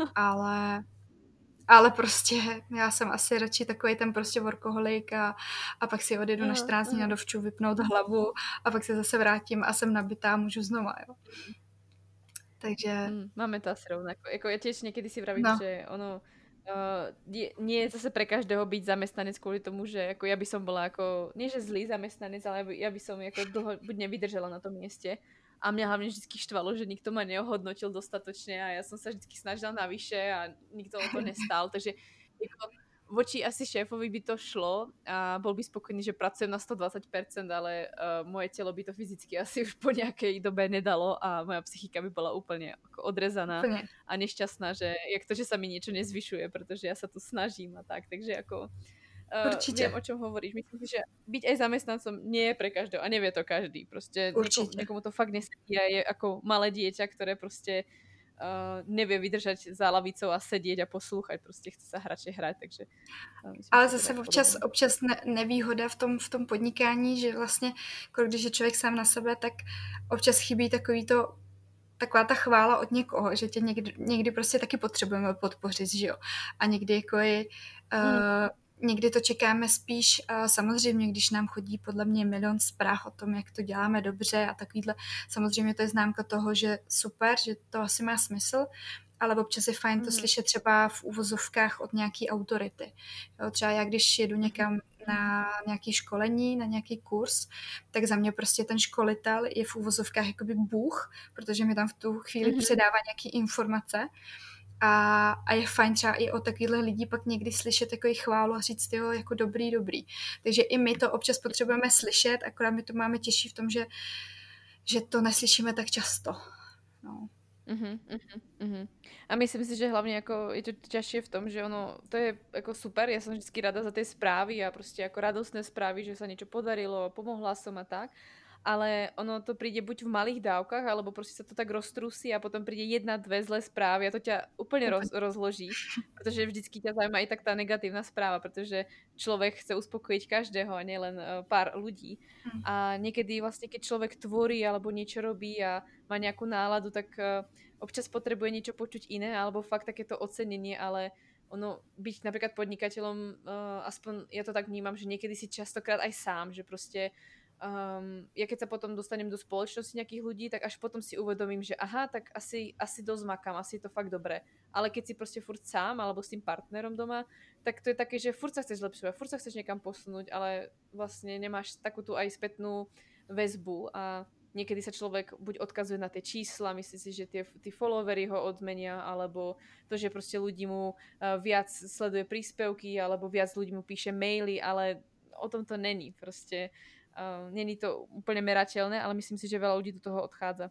ale prostě já jsem asi radši takový ten prostě workoholik a pak si odjedu na 14 dní na dovču vypnout hlavu a pak se zase vrátím a jsem nabitá a můžu znova, jo. Takže... Máme to asi rovnako. Jako ja tiež niekedy si vravím, že ono nie je zase pre každého byť zamestnanec kvôli tomu, že ako ja by som bola ako, nie že zlý zamestnanec, ale ja by som ako dlho buď nevydržala na tom mieste. A mňa hlavne vždy štvalo, že nikto ma neohodnotil dostatočne a ja som sa vždy snažila navyše a nikto o to nestál. Takže ako, voči asi šéfovi by to šlo a bol by spokojný, že pracujem na 120%, ale moje telo by to fyzicky asi už po nejakej dobe nedalo a moja psychika by bola úplne ako odrezaná a nešťastná, že jak to, že sa mi niečo nezvyšuje, pretože ja sa tu snažím a tak, takže ako viem, o čom hovoríš. Myslím si, že byť aj zamestnancom nie je pre každého a nevie to každý. Proste niekomu to fakt nesedí a je ako malé dieťa, ktoré proste nevie vydržať za lavicou a sedieť a poslúchať, prostě chce sa radšej hrať, takže... Ale zase občas nevýhoda v tom podnikání, že vlastně, když je člověk sám na sebe, tak občas chybí taková ta chvála od někoho, že tě někdy prostě taky potřebujeme podpořit, že jo. A někdy jako někdy to čekáme spíš, samozřejmě, když nám chodí podle mě milion zpráv o tom, jak to děláme dobře a takovýhle, samozřejmě to je známka toho, že super, že to asi má smysl, ale občas je fajn to slyšet třeba v uvozovkách od nějaký autority. Jo, třeba já, když jedu někam na nějaké školení, na nějaký kurz, tak za mě prostě ten školitel je v uvozovkách jakoby bůh, protože mi tam v tu chvíli předává nějaké informace. A je fajn třeba i od takovýchhle lidí pak někdy slyšet takový chválu a říct, jo, jako dobrý. Takže i my to občas potřebujeme slyšet, akorát my to máme těžší v tom, že že to neslyšíme tak často. No. A myslím si, že hlavne ako je to ťažšie v tom, že ono, to je ako super, ja som vždy rada za tie správy a proste ako radostné správy, že sa niečo podarilo, pomohla som a tak, ale ono to príde buď v malých dávkach, alebo proste sa to tak roztrúsi a potom príde jedna, dve zlé správy a to ťa úplne Úplně. rozloží, pretože vždycky ťa zaujíma aj tak tá negatívna správa, pretože človek chce uspokojiť každého a nielen pár ľudí. Hm. A niekedy vlastne, keď človek tvorí alebo niečo robí a má nejakú náladu, tak občas potrebuje niečo počuť iné, alebo fakt takéto ocenenie, ale ono, byť napríklad podnikateľom, aspoň ja to tak vnímam, že niekedy si častokrát aj sám, že proste ja keď sa potom dostanem do spoločnosti nejakých ľudí, tak až potom si uvedomím, že aha, tak asi dosť makám, asi je to fakt dobré. Ale keď si proste furt sám, alebo s tým partnerom doma, tak to je také, že furt sa chceš zlepšovať, furt sa chceš niekam posunúť, ale vlastne nemáš takú tú aj spätnú väzbu a niekedy sa človek buď odkazuje na tie čísla, myslí si, že tí followery ho odmenia, alebo to, že proste ľudí mu viac sleduje príspevky, alebo viac ľudí mu píše maily, ale o tom to není. Proste není to úplně merateľné, ale myslím si, že veľa ľudí do toho odchádza.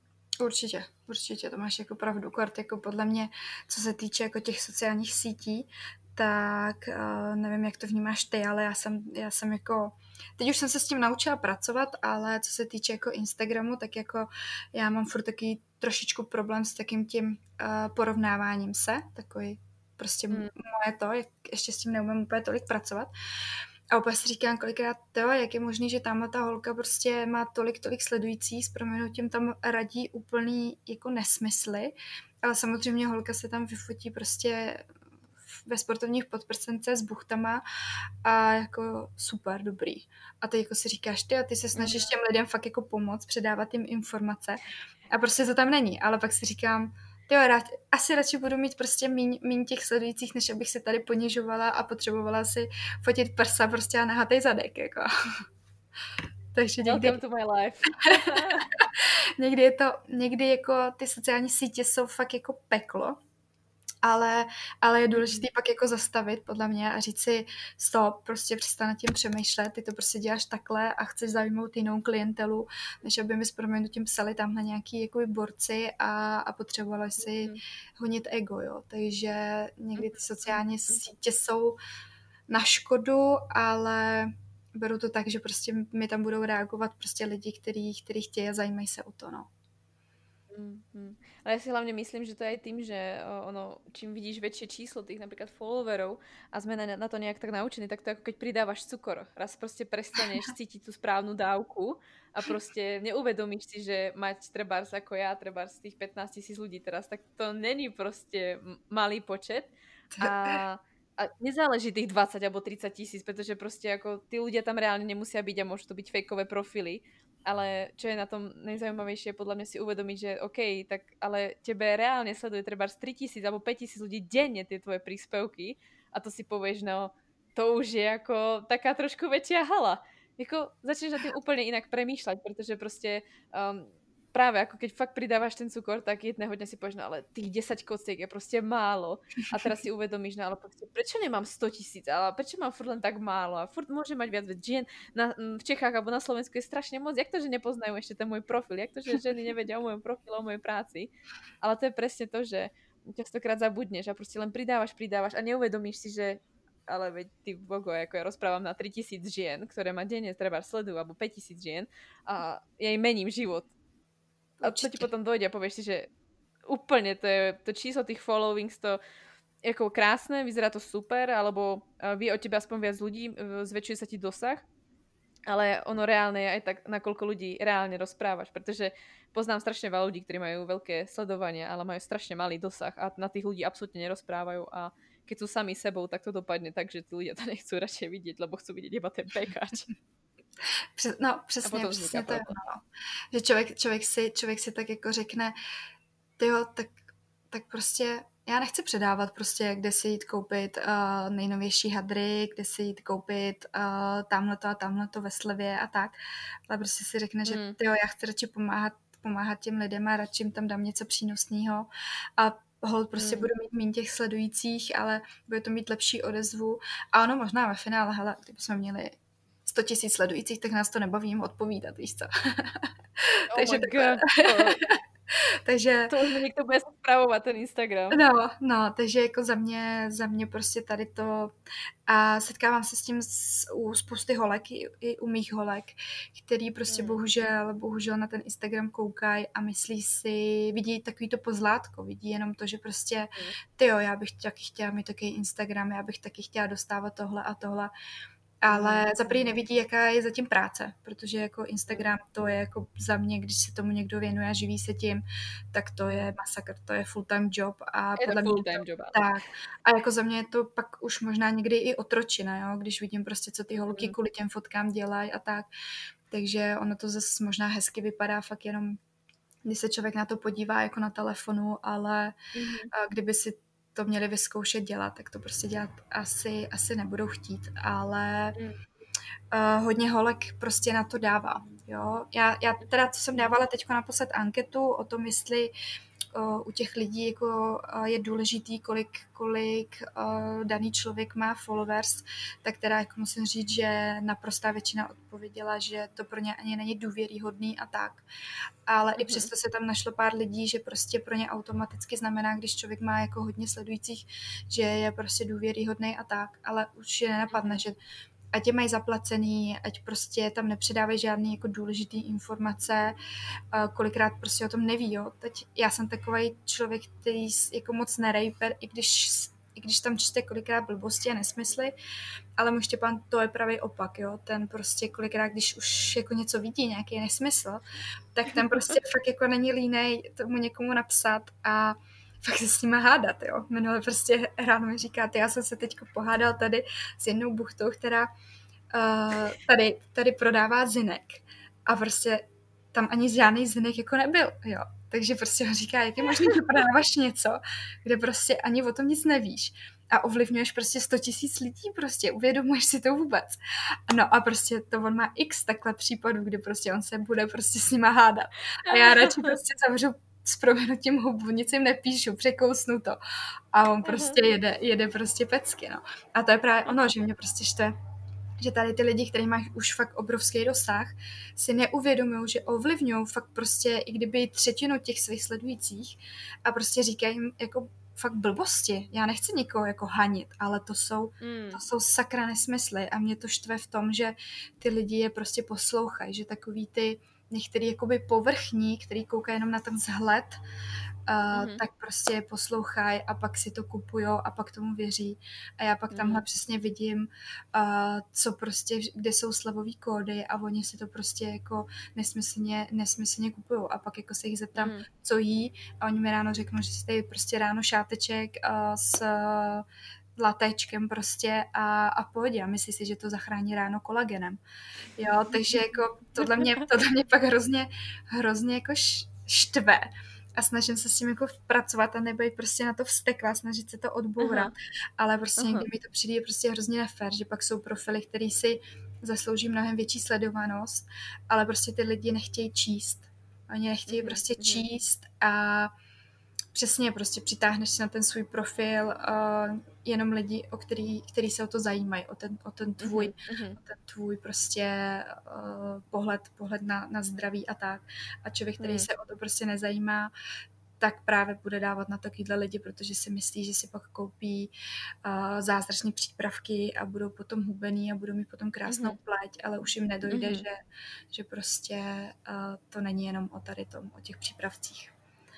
Určitě, to máš jako pravdu, Kort, jako podle mě, co se týče jako těch sociálních sítí, tak nevím, jak to vnímáš ty, ale já jsem jako, teď už jsem se s tím naučila pracovat, ale co se týče jako Instagramu, tak jako já mám furt taky trošičku problém s takým tím porovnáváním se, takový prostě moje to, ještě s tím neumím úplně tolik pracovat. A opět si říkám kolikrát, jak je možný, že tamhle ta holka prostě má tolik sledujících, s proměnutím tam radí úplný jako nesmysly, ale samozřejmě holka se tam vyfotí prostě ve sportovních podprsence s buchtama a jako super, dobrý. A ty jako si říkáš, ty se snažíš těm lidem fakt jako pomoct, předávat jim informace a prostě to tam není, ale pak si říkám, asi radši budu mít prostě míň těch sledujících, než abych se tady ponižovala a potřebovala si fotit prsa prostě a nahatej zadek, jako. Takže někdy... Welcome to my life. někdy jako ty sociální sítě jsou fakt jako peklo, ale je důležité pak jako zastavit, podle mě, a říct si stop, prostě přestat nad tím přemýšlet, ty to prostě děláš takhle a chceš zaujmout jinou klientelu, než aby mi s proměnutím psali tamhle nějaký jako borci a potřebovali si honit ego, jo. Takže někdy ty sociální sítě jsou na škodu, ale beru to tak, že prostě mi tam budou reagovat prostě lidi, kteří chtějí a zajímají se o to, no. Ale ja si hlavne myslím, že to je aj tým, že ono, čím vidíš väčšie číslo tých napríklad followerov a sme na to nejak tak naučení, tak to ako keď pridávaš cukor. Raz proste prestaneš cítiť tú správnu dávku a proste neuvedomíš si, že mať trebárs ako ja, trebárs tých 15 000 ľudí teraz, tak to není proste malý počet a nezáleží tých 20 alebo 30 000, pretože proste ako tí ľudia tam reálne nemusia byť a môžu to byť fejkové profily. Ale čo je na tom najzaujímavejšie, podľa mňa si uvedomiť, že OK, tak ale tebe reálne sleduje treba 3000 alebo 5000 ľudí denne tie tvoje príspevky a to si povieš, no to už je ako taká trošku väčšia hala. Jako začneš na tým úplne inak premýšľať, pretože proste práve ako keď fakt pridávaš ten cukor, tak jedného dňa si povieš, no ale tých 10 kociek je proste málo. A teraz si uvedomíš, no ale proste, prečo nemám 100 000, ale prečo mám furt len tak málo a furt môžem mať viac žien v Čechách alebo na Slovensku je strašne moc. Jak to, že nepoznajú ešte ten môj profil? Jak to, že ženy nevedia o mojom profile, o mojej práci? Ale to je presne to, že častokrát zabudneš a proste len pridávaš a neuvedomíš si, že ale veď ty bogo, ako ja rozprávam na 3000 žien, ktoré ma denne treba sledujú, alebo 5000 žien a ja im mením život. A to ti potom dojde a povieš si, že úplne to číslo tých followings, to je ako krásne, vyzerá to super, alebo vie o tebe aspoň viac ľudí, zväčšuje sa ti dosah, ale ono reálne je aj tak, nakoľko ľudí reálne rozprávaš, pretože poznám strašne veľa ľudí, ktorí majú veľké sledovanie, ale majú strašne malý dosah a na tých ľudí absolútne nerozprávajú a keď sú sami sebou, tak to dopadne tak, že tí ľudia to nechcú radšej vidieť, lebo chcú vidieť iba ten pekáč. No, přesně to je ono. Že člověk si tak jako řekne, tyjo, tak prostě já nechci předávat prostě, kde si jít koupit nejnovější hadry, kde si jít koupit tamhleto a tamhleto ve slevě a tak. Ale prostě si řekne, že tyjo, já chci radši pomáhat těm lidem a radši jim tam dám něco přínosného a hold prostě budu mít méně těch sledujících, ale bude to mít lepší odezvu. A ono možná ve finále, hele, kdybychom měli 100 000 sledujících, tak nás to nebaví jim odpovídat, víš co. Oh Takže my takhle. god, Takže to už mi niekto bude spravovať ten Instagram. no, takže jako za mě prostě tady to a setkávám se s tím u spousty holek, i u mých holek, který prostě bohužel na ten Instagram koukají a myslí si, vidí takový to pozlátko, vidí jenom to, že prostě tyjo, já bych taky chtěla mít takový Instagram, já bych taky chtěla dostávat tohle a tohle. Ale za první nevidí, jaká je zatím práce, protože jako Instagram to je jako za mě, když se tomu někdo věnuje a živí se tím, tak to je masakr, to je full-time job a Je to podle mě full-time job, áno. tak. A jako za mě je to pak už možná někdy i otročina, jo, když vidím prostě, co ty holky kvůli těm fotkám dělají a tak. Takže ono to zase možná hezky vypadá fakt jenom, když se člověk na to podívá jako na telefonu, ale kdyby si to měli vyzkoušet dělat, tak to prostě dělat asi nebudou chtít, ale hodně holek prostě na to dává. Jo? Já teda, co jsem dávala teď naposled anketu o tom, jestli u těch lidí jako je důležitý, kolik daný člověk má followers, tak teda jako musím říct, že naprostá většina odpověděla, že to pro ně ani není důvěryhodný a tak. Ale i přesto se tam našlo pár lidí, že prostě pro ně automaticky znamená, když člověk má jako hodně sledujících, že je prostě důvěryhodný a tak. Ale už je nenapadne, že ať je mají zaplacený, ať prostě tam nepředávají žádný jako důležitý informace, kolikrát prostě o tom neví, jo. Teď já jsem takovej člověk, který jako moc nerejper, i když tam čte kolikrát blbosti a nesmysly, ale můj Štěpán to je pravý opak, jo. Ten prostě kolikrát, když už jako něco vidí, nějaký nesmysl, tak ten prostě fakt jako není línej tomu někomu napsat a fakt se s nima hádat, jo. Minule prostě ráno mi říká, já jsem se teďko pohádal tady s jednou buchtou, která tady prodává zinek a prostě tam ani žádný zinek jako nebyl, jo. Takže prostě ho říká, jak je možné, že prodáváš něco, kde prostě ani o tom nic nevíš a ovlivňuješ prostě 100 000 lidí, prostě uvědomuješ si to vůbec. No a prostě to on má x takhle případů, kdy prostě on se bude prostě s nima hádat. A já radši prostě zavřu s proměnutím hubu, nic jim nepíšu, překousnu to. A on prostě jede prostě pecky, no. A to je právě ono, že mě prostě štve, že tady ty lidi, kteří mají už fakt obrovský dosah, si neuvědomují, že ovlivňují fakt prostě, i kdyby třetinu těch svých sledujících a prostě říkají jim jako fakt blbosti. Já nechci nikoho jako hanit, ale to jsou sakra nesmysly a mě to štve v tom, že ty lidi je prostě poslouchají, že takový ty některý jakoby povrchní, který koukají jenom na ten vzhled, tak prostě je poslouchají a pak si to kupujou a pak tomu věří. A já pak tamhle přesně vidím, co prostě, kde jsou slevový kódy a oni si to prostě jako nesmyslně kupujou. A pak jako se jich zeptám, co jí a oni mi ráno řeknou, že si tady prostě ráno šáteček s latéčkem prostě a v pohodě a myslí si, že to zachrání ráno kolagenem. Jo, takže jako tohle mě pak hrozně jako štve a snažím se s tím jako pracovat a nebejt prostě na to vzteklá, snažit se to odbourat, ale prostě někdy mi to přijde prostě hrozně nefér, že pak jsou profily, který si zaslouží mnohem větší sledovanost, ale prostě ty lidi nechtějí číst. Oni nechtějí prostě číst a přesně prostě přitáhneš si na ten svůj profil jenom lidi, který se o to zajímají, o ten tvůj prostě pohled na zdraví a tak. A člověk, který se o to prostě nezajímá, tak právě bude dávat na takovýhle lidi, protože si myslí, že si pak koupí zázračné přípravky a budou potom hubený a budou mít potom krásnou pleť, ale už jim nedojde, že prostě to není jenom o tady tom, o těch přípravcích.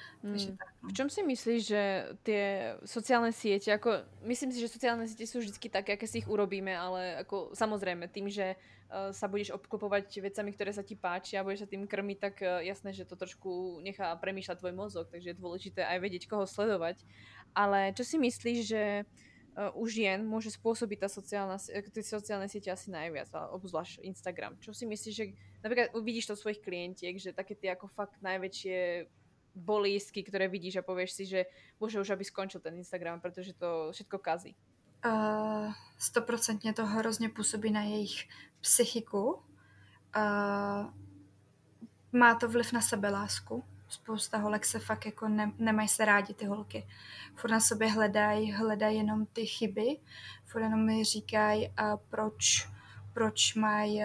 V čom si myslíš, že tie sociálne siete, ako myslím si, že sociálne siete sú vždycky také, aké si ich urobíme, ale ako samozrejme tým, že sa budeš obklopovať vecami, ktoré sa ti páčia a budeš sa tým krmiť, tak jasné, že to trošku nechá premýšľať tvoj mozog, takže je dôležité aj vedieť, koho sledovať. Ale čo si myslíš, že u žien môže spôsobiť tie sociálne siete asi najviac, obzvlášť Instagram. Čo si myslíš, že napríklad vidíš to svojich klientiek, že také tie ako fakt najväčšie bolístky, ktoré vidíš a povieš si, že bože, už aby skončil ten Instagram, protože to všetko kazí. 100% to hrozně působí na jejich psychiku. Má to vliv na sebelásku. Spousta holek se fakt jako nemají se rádi ty holky. Furt na sobě hledají jenom ty chyby. Furt jenom mi říkají, proč mají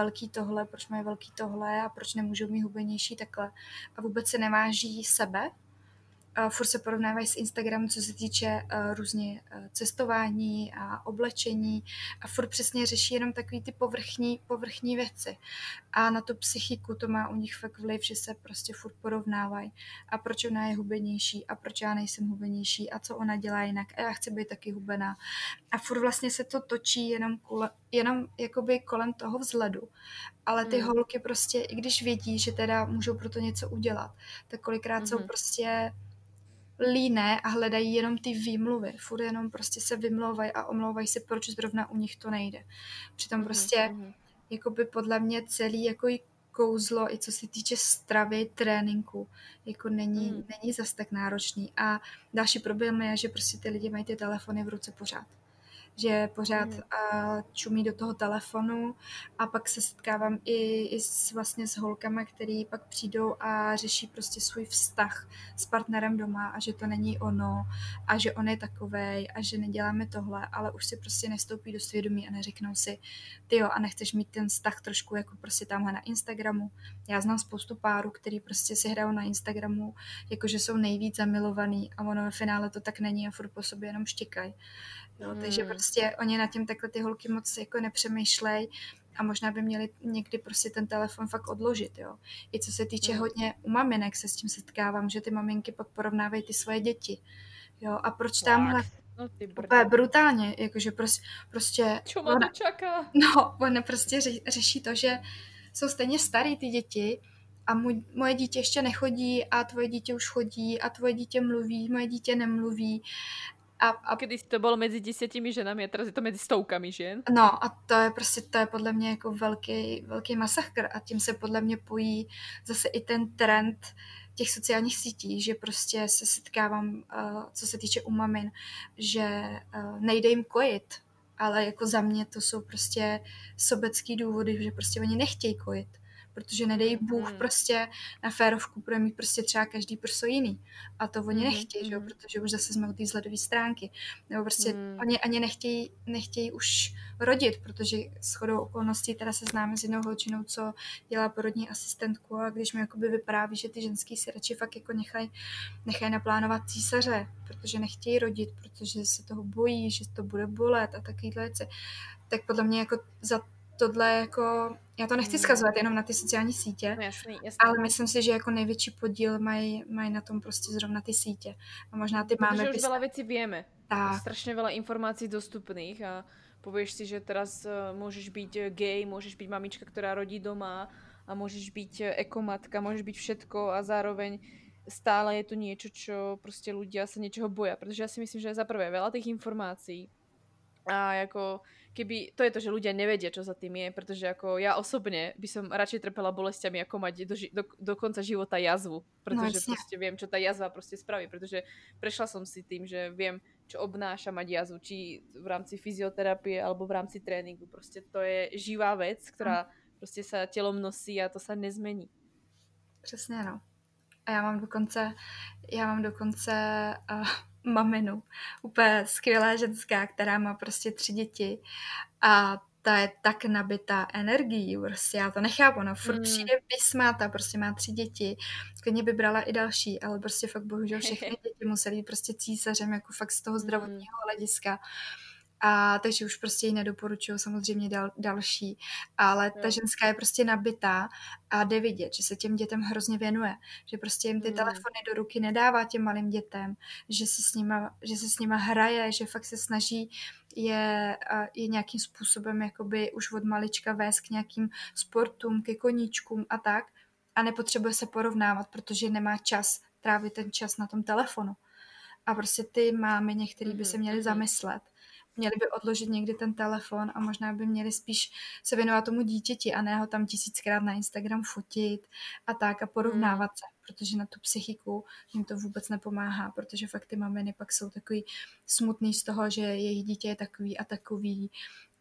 velký tohle a proč nemůžou mít hubenější takhle. A vůbec se neváží sebe, furt se porovnávají s Instagramem, co se týče různě cestování a oblečení a furt přesně řeší jenom takový ty povrchní věci. A na tu psychiku to má u nich fakt vliv, že se prostě furt porovnávají. A proč ona je hubenější a proč já nejsem hubenější a co ona dělá jinak a já chci být taky hubená. A furt vlastně se to točí jenom jakoby kolem toho vzhledu. Ale ty holky prostě, i když vědí, že teda můžou pro to něco udělat, tak kolikrát jsou prostě líné a hledají jenom ty výmluvy. Furt jenom prostě se vymlouvají a omlouvají se, proč zrovna u nich to nejde. Přitom prostě jakoby podle mě celý jako i kouzlo, i co se týče stravy, tréninku, jako není zas tak náročný. A další problém je, že prostě ty lidi mají ty telefony v ruce pořád. Že pořád čumí do toho telefonu a pak se setkávám i vlastně s holkama, který pak přijdou a řeší prostě svůj vztah s partnerem doma a že to není ono a že on je takovej a že neděláme tohle, ale už si prostě nestoupí do svědomí a neřeknou si, tyjo, a nechceš mít ten vztah trošku jako prostě tamhle na Instagramu. Já znám spoustu párů, který prostě si hrajou na Instagramu, jakože jsou nejvíc zamilovaný a ono ve finále to tak není a furt po sobě jenom štěkají. Jo, takže prostě oni na tím takhle ty holky moc jako nepřemýšlej a možná by měli někdy prostě ten telefon fakt odložit, jo. I co se týče hodně u maminek se s tím setkávám, že ty maminky pak porovnávají ty svoje děti, jo. A proč tamhle úplně brutálně, jakože prostě čo ma to čaká? No, ona prostě řeší to, že jsou stejně starý ty děti a moje dítě ještě nechodí a tvoje dítě už chodí a tvoje dítě mluví, moje dítě nemluví. A kedy to bylo mezi 10 ženami a teraz je to mezi stovkami žen. No a to je podle mě jako velký masakr a tím se podle mě pojí zase i ten trend těch sociálních sítí, že prostě se setkávám, co se týče u mamin, že nejde jim kojit, ale jako za mě to jsou prostě sobecký důvody, že prostě oni nechtějí kojit, protože nedej Bůh prostě na férovku bude mít prostě třeba každý prso jiný. A to oni nechtějí, že jo, protože už zase jsme u té vzhledové stránky. Nebo prostě oni ani nechtějí už rodit, protože shodou okolností teda se známe s jednou holčinou, co dělá porodní asistentku a když mi jakoby vypráví, že ty ženský si radši fakt jako nechají naplánovat císaře, protože nechtějí rodit, protože se toho bojí, že to bude bolet a takovýhle věci. Tak podle mě jako za tohle jako, já to nechci skazovat jenom na ty sociální sítě, no, jasný. ale myslím si, že jako největší podíl mají na tom prostě zrovna ty sítě. A možná ty máme... Protože už veľa vecí vieme. Tak. Strašne veľa informácií dostupných a povieš si, že teraz môžeš byť gay, môžeš byť mamička, ktorá rodí doma a môžeš byť ekomatka, môžeš byť všetko a zároveň stále je to niečo, čo proste ľudia sa niečoho boja. Pretože ja si myslím, že za prvé veľa tých informácií a ako keby, to je to, že ľudia nevedia, čo za tým je, pretože ako ja osobne by som radšej trpela bolestiami, ako mať do konca života jazvu, pretože proste viem, čo tá jazva proste spraví, pretože prešla som si tým, že viem, čo obnáša mať jazvu, či v rámci fyzioterapie alebo v rámci tréningu, proste to je živá vec, ktorá proste sa telom nosí a to sa nezmení. Přesně, no. A já mám dokonce maminu, úplně skvělá ženská, která má prostě 3 děti a ta je tak nabitá energií, prostě já to nechápu, no furt přijde vysmátá, prostě má 3 děti, klidně by brala i další, ale prostě fakt bohužel všechny děti musely být prostě císařem, jako fakt z toho zdravotního hlediska. A takže už prostě ji nedoporučuju samozřejmě další, ale ta ženská je prostě nabitá a jde vidět, že se těm dětem hrozně věnuje, že prostě jim ty telefony do ruky nedává těm malým dětem, že se s nima hraje, že fakt se snaží je nějakým způsobem jakoby už od malička vést k nějakým sportům, ke koníčkům a tak a nepotřebuje se porovnávat, protože nemá čas trávit ten čas na tom telefonu. A prostě ty mámy některý by se měly zamyslet, měli by odložit někdy ten telefon a možná by měli spíš se věnovat tomu dítěti a ne ho tam 1000krát na Instagram fotit a tak a porovnávat se, protože na tu psychiku jim to vůbec nepomáhá, protože fakt ty maminy pak jsou takový smutný z toho, že jejich dítě je takový a takový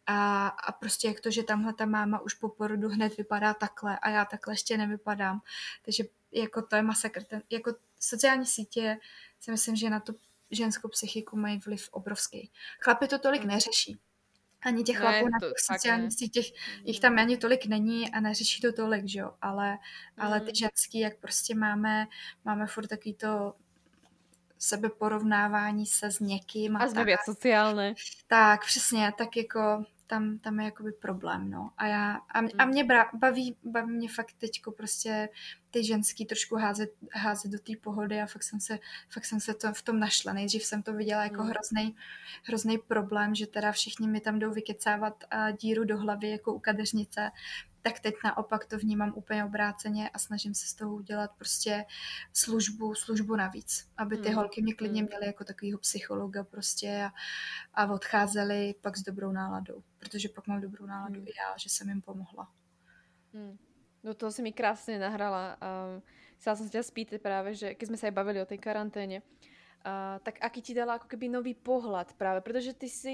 a prostě jak to, že tamhle ta máma už po porodu hned vypadá takhle a já takhle ještě nevypadám, takže jako to je masakr. Jako sociální sítě si myslím, že na tu ženskou psychiku mají vliv obrovský. Chlapi to tolik neřeší, Ani těch chlapů Ne, na to těch fakt sociálních ne. sítích, jich Mm. tam ani tolik není a neřeší to tolik, že jo, ale ty Mm. ženský, jak prostě máme furt takový to sebeporovnávání se s někým a A sme tak. viac sociálne. Tak, přesně, tak jako tam je jakoby problém, no. A Mm. mě baví mě fakt teďko prostě ty ženský trošku házet do té pohody a fakt jsem se to v tom našla. Nejdřív jsem to viděla jako Mm. hrozný problém, že teda všichni mi tam jdou vykecávat díru do hlavy jako u kadeřnice, tak teď naopak to vnímám úplně obráceně a snažím se z toho udělat prostě službu navíc, aby ty Mm. holky mě klidně Mm. měly jako takovýho psychologa prostě a odcházeli pak s dobrou náladou, protože pak mám dobrou náladu Mm. i já, že jsem jim pomohla. Mm. No to si mi krásne nahrala. Chcela som sa ťa spýtať práve, že keď sme sa aj bavili o tej karanténe, tak aký ti dala ako keby nový pohľad práve, pretože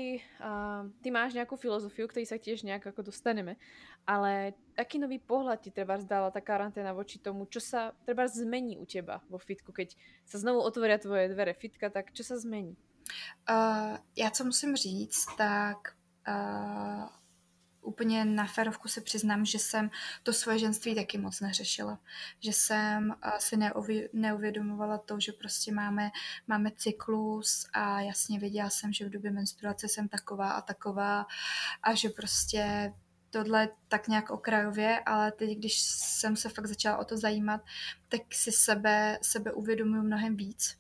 ty máš nejakú filozofiu, ktorej sa tiež nejak ako dostaneme, ale aký nový pohľad ti treba dala tá karanténa voči tomu, čo sa treba zmení u teba vo fitku, keď sa znovu otvoria tvoje dvere fitka, tak čo sa zmení? Já co musím říct, tak uh, úplně na férovku se přiznám, že jsem to svoje ženství taky moc neřešila. Že jsem si neuvědomovala to, že prostě máme cyklus a jasně věděla jsem, že v době menstruace jsem taková a že prostě tohle tak nějak okrajově, ale teď, když jsem se fakt začala o to zajímat, tak si sebe uvědomuji mnohem víc.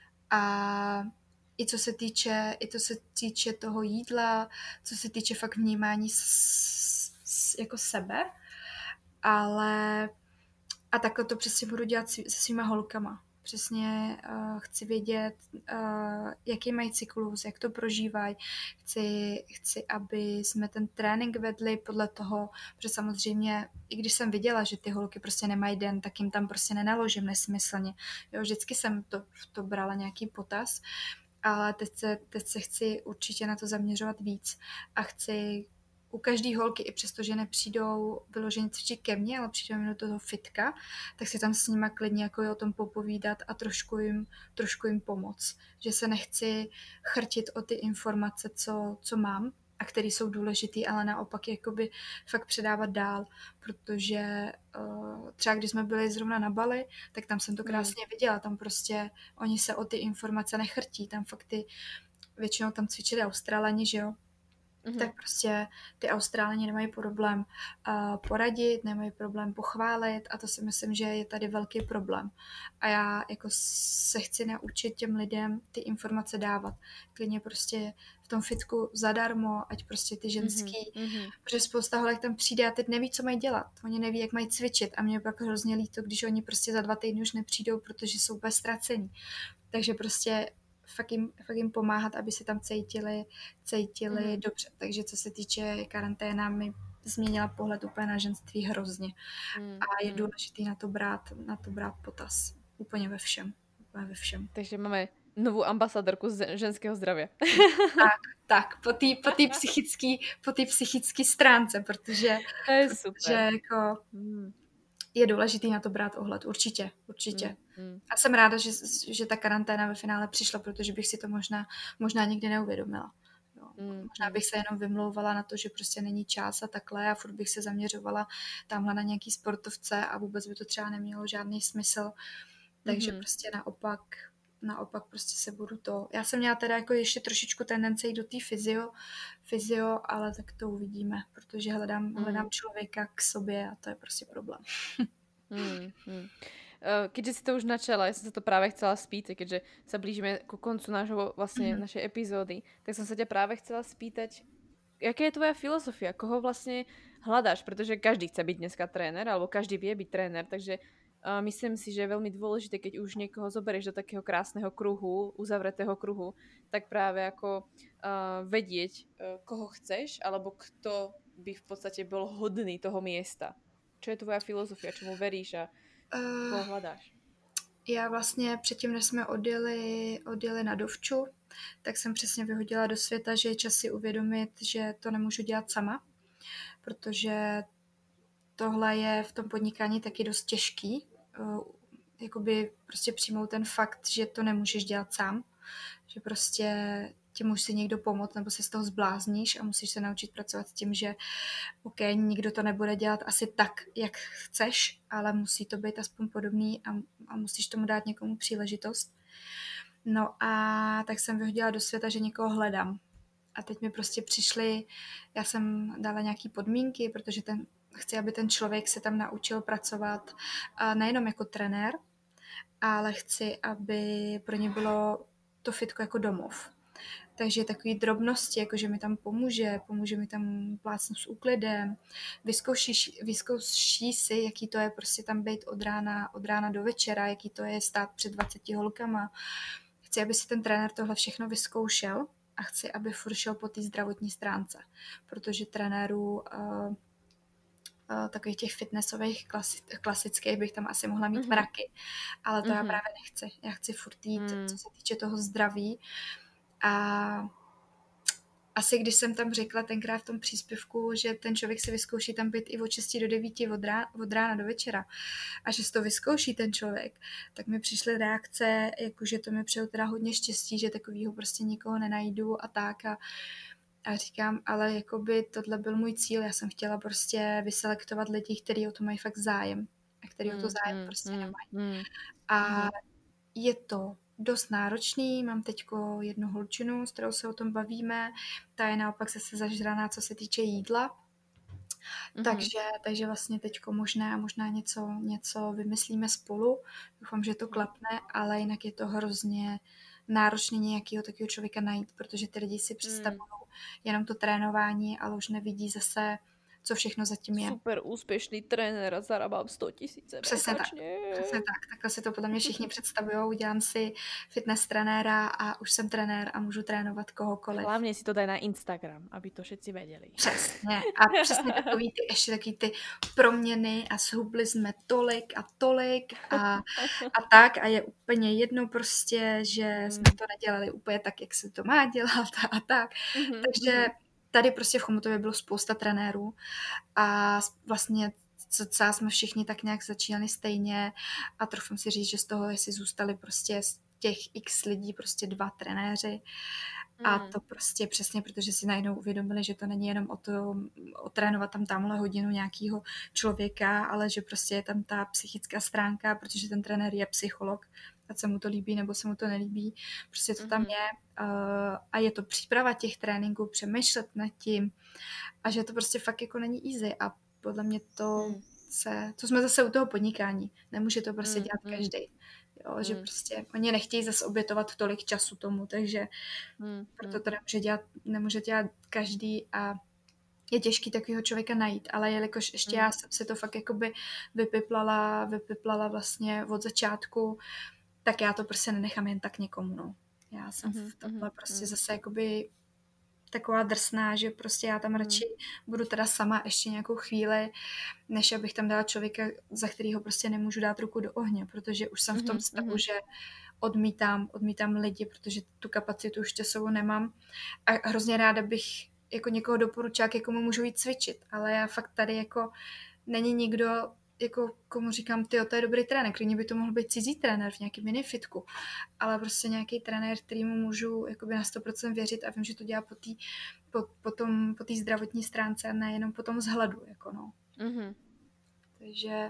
A i co se týče toho jídla, co se týče fakt vnímání jako sebe, ale a takhle to přesně budu dělat se svýma holkama. Přesně chci vědět, jaký mají cyklus, jak to prožívají. Chci, aby jsme ten trénink vedli podle toho, protože samozřejmě, i když jsem viděla, že ty holky prostě nemají den, tak jim tam prostě nenaložím nesmyslně. Jo, vždycky jsem to brala nějaký potaz, ale teď se chci určitě na to zaměřovat víc a chci u každé holky, i přesto, že nepřijdou vyloženě cvičit ke mně, ale přijdou do toho fitka, tak si tam s nima klidně jako o tom popovídat a trošku jim pomoct. Že se nechci chrtit o ty informace, co mám a které jsou důležitý, ale naopak jakoby fakt předávat dál, protože třeba když jsme byli zrovna na Bali, tak tam jsem to krásně viděla, tam prostě oni se o ty informace nechrtí, tam fakt většinou tam cvičili Australani, že jo, tak prostě ty Austrálani nemají problém poradit, nemají problém pochválit a to si myslím, že je tady velký problém. A já jako se chci naučit těm lidem ty informace dávat. Klidně prostě v tom fitku zadarmo, ať prostě ty ženský, protože spousta holek tam přijde a teď neví, co mají dělat. Oni neví, jak mají cvičit a mě pak hrozně líto, když oni prostě za 2 týdny už nepřijdou, protože jsou úplně ztracení. Takže prostě fakt jim pomáhat, aby se tam cítili dobře. Takže co se týče karanténa, mi změnila pohled úplně na ženství hrozně. A je důležitý na to brát potaz. Úplně ve všem. Takže máme novú ambasadorku ženského zdravia. Tak, po té psychické stránce, protože To je super. jako je důležitý na to brát ohled, určitě. A jsem ráda, že ta karanténa ve finále přišla, protože bych si to možná nikdy neuvědomila. Jo. Možná bych se jenom vymlouvala na to, že prostě není čas a takhle a furt bych se zaměřovala tamhle na nějaký sportovce a vůbec by to třeba nemělo žádný smysl. Takže prostě naopak prostě se budu to... Já jsem měla teda jako ještě trošičku tendence jít do té fyzio, ale tak to uvidíme, protože hledám člověka k sobě a to je prostě problém. Keďže si to už načala, ja som sa to práve chcela spýtať, keďže sa blížime ku koncu našej epizódy, tak som sa ťa práve chcela spýtať, aká je tvoja filozofia, koho vlastne hľadáš, pretože každý chce byť dneska tréner, alebo každý vie byť tréner, takže myslím si, že je veľmi dôležité, keď už niekoho zoberieš do takého krásneho kruhu, uzavretého kruhu, tak práve ako vedieť, koho chceš, alebo kto by v podstate bol hodný toho miesta. Čo je tvoja filozofia, čomu veríš a koho hľadáš? Já vlastně předtím, než jsme odjeli na dovču, tak jsem přesně vyhodila do světa, že je čas si uvědomit, že to nemůžu dělat sama, protože tohle je v tom podnikání taky dost těžký. Jakoby prostě přijmout ten fakt, že to nemůžeš dělat sám, že prostě ti musí někdo pomoct, nebo se z toho zblázníš a musíš se naučit pracovat s tím, že OK, nikdo to nebude dělat asi tak, jak chceš, ale musí to být aspoň podobný a musíš tomu dát někomu příležitost. No a tak jsem vyhodila do světa, že někoho hledám. A teď mi prostě přišly, já jsem dala nějaký podmínky, protože chci, aby ten člověk se tam naučil pracovat nejenom jako trenér, ale chci, aby pro ně bylo to fitko jako domov. Takže takový drobnosti, jako že mi tam pomůže mi tam plácnout s úklidem, vyzkouší si, jaký to je prostě tam být od rána do večera, jaký to je stát před 20 holkama. Chci, aby si ten trenér tohle všechno vyzkoušel a chci, aby furt šel po té zdravotní stránce, protože trenérů takových těch fitnessových klasických bych tam asi mohla mít mraky, ale to já právě nechci. Já chci furt jít, co se týče toho zdraví. A asi když jsem tam řekla tenkrát v tom příspěvku, že ten člověk si vyzkouší tam být i od 6 do 9 od rána do večera a že si to vyzkouší ten člověk, tak mi přišly reakce, jakože to mi přeju teda hodně štěstí, že takovýho prostě nikoho nenajdu a tak a říkám, ale jakoby tohle byl můj cíl, já jsem chtěla prostě vyselektovat lidi, kteří o to mají fakt zájem a kteří o to zájem prostě nemají. A je to dost náročný, mám teďko jednu holčinu, s kterou se o tom bavíme, ta je naopak zase zažraná, co se týče jídla, takže vlastně teďko možná něco vymyslíme spolu, doufám, že to klapne, ale jinak je to hrozně náročný nějakého takového člověka najít, protože ty lidi si představují jenom to trénování, ale už nevidí zase, co všechno zatím je. Super úspěšný trenér a zarábám 100 000 Přesně tak. Takhle si to podle mě všichni představují. Udělám si fitness trenéra a už jsem trenér a můžu trénovat kohokoliv. Hlavně si to daj na Instagram, aby to všetci věděli. Přesně. A přesně ještě takový ty proměny a zhubli jsme tolik a tolik a tak a je úplně jedno prostě, že jsme to nedělali úplně tak, jak se to má dělat a tak. Takže tady prostě v Chomutově bylo spousta trenérů a vlastně cca jsme všichni tak nějak začínali stejně a troufám si říct, že z toho jestli zůstali prostě z těch x lidí prostě 2 trenéři a to prostě přesně, protože si najednou uvědomili, že to není jenom o to otrénovat tam tamhle hodinu nějakého člověka, ale že prostě je tam ta psychická stránka, protože ten trenér je psycholog, ať se mu to líbí nebo se mu to nelíbí, prostě to tam je a je to příprava těch tréninků, přemýšlet nad tím a že to prostě fakt jako není easy a podle mě to jsme zase u toho podnikání. Nemůže to prostě dělat každý. Jo, že prostě oni nechtějí zase obětovat tolik času tomu, takže proto to nemůže dělat každý a je těžký takového člověka najít, ale jelikož ještě já jsem se to fakt jakoby vypiplala vlastně od začátku, tak já to prostě nenechám jen tak někomu, no. Já jsem v tomhle prostě zase jakoby taková drsná, že prostě já tam radši budu teda sama ještě nějakou chvíli, než abych tam dala člověka, za kterýho prostě nemůžu dát ruku do ohně, protože už jsem v tom stavu, že odmítám lidi, protože tu kapacitu už časovou nemám a hrozně ráda bych jako někoho doporučila, k komu můžu jít cvičit, ale já fakt tady jako není nikdo, jako komu říkám, tyjo, to je dobrý trenér, klidně by to mohl být cizí trenér v nějakém minifitku, ale prostě nějaký trenér, kterýmu můžu jakoby na 100% věřit a vím, že to dělá po té zdravotní stránce a nejenom po tom vzhledu, jako no. Takže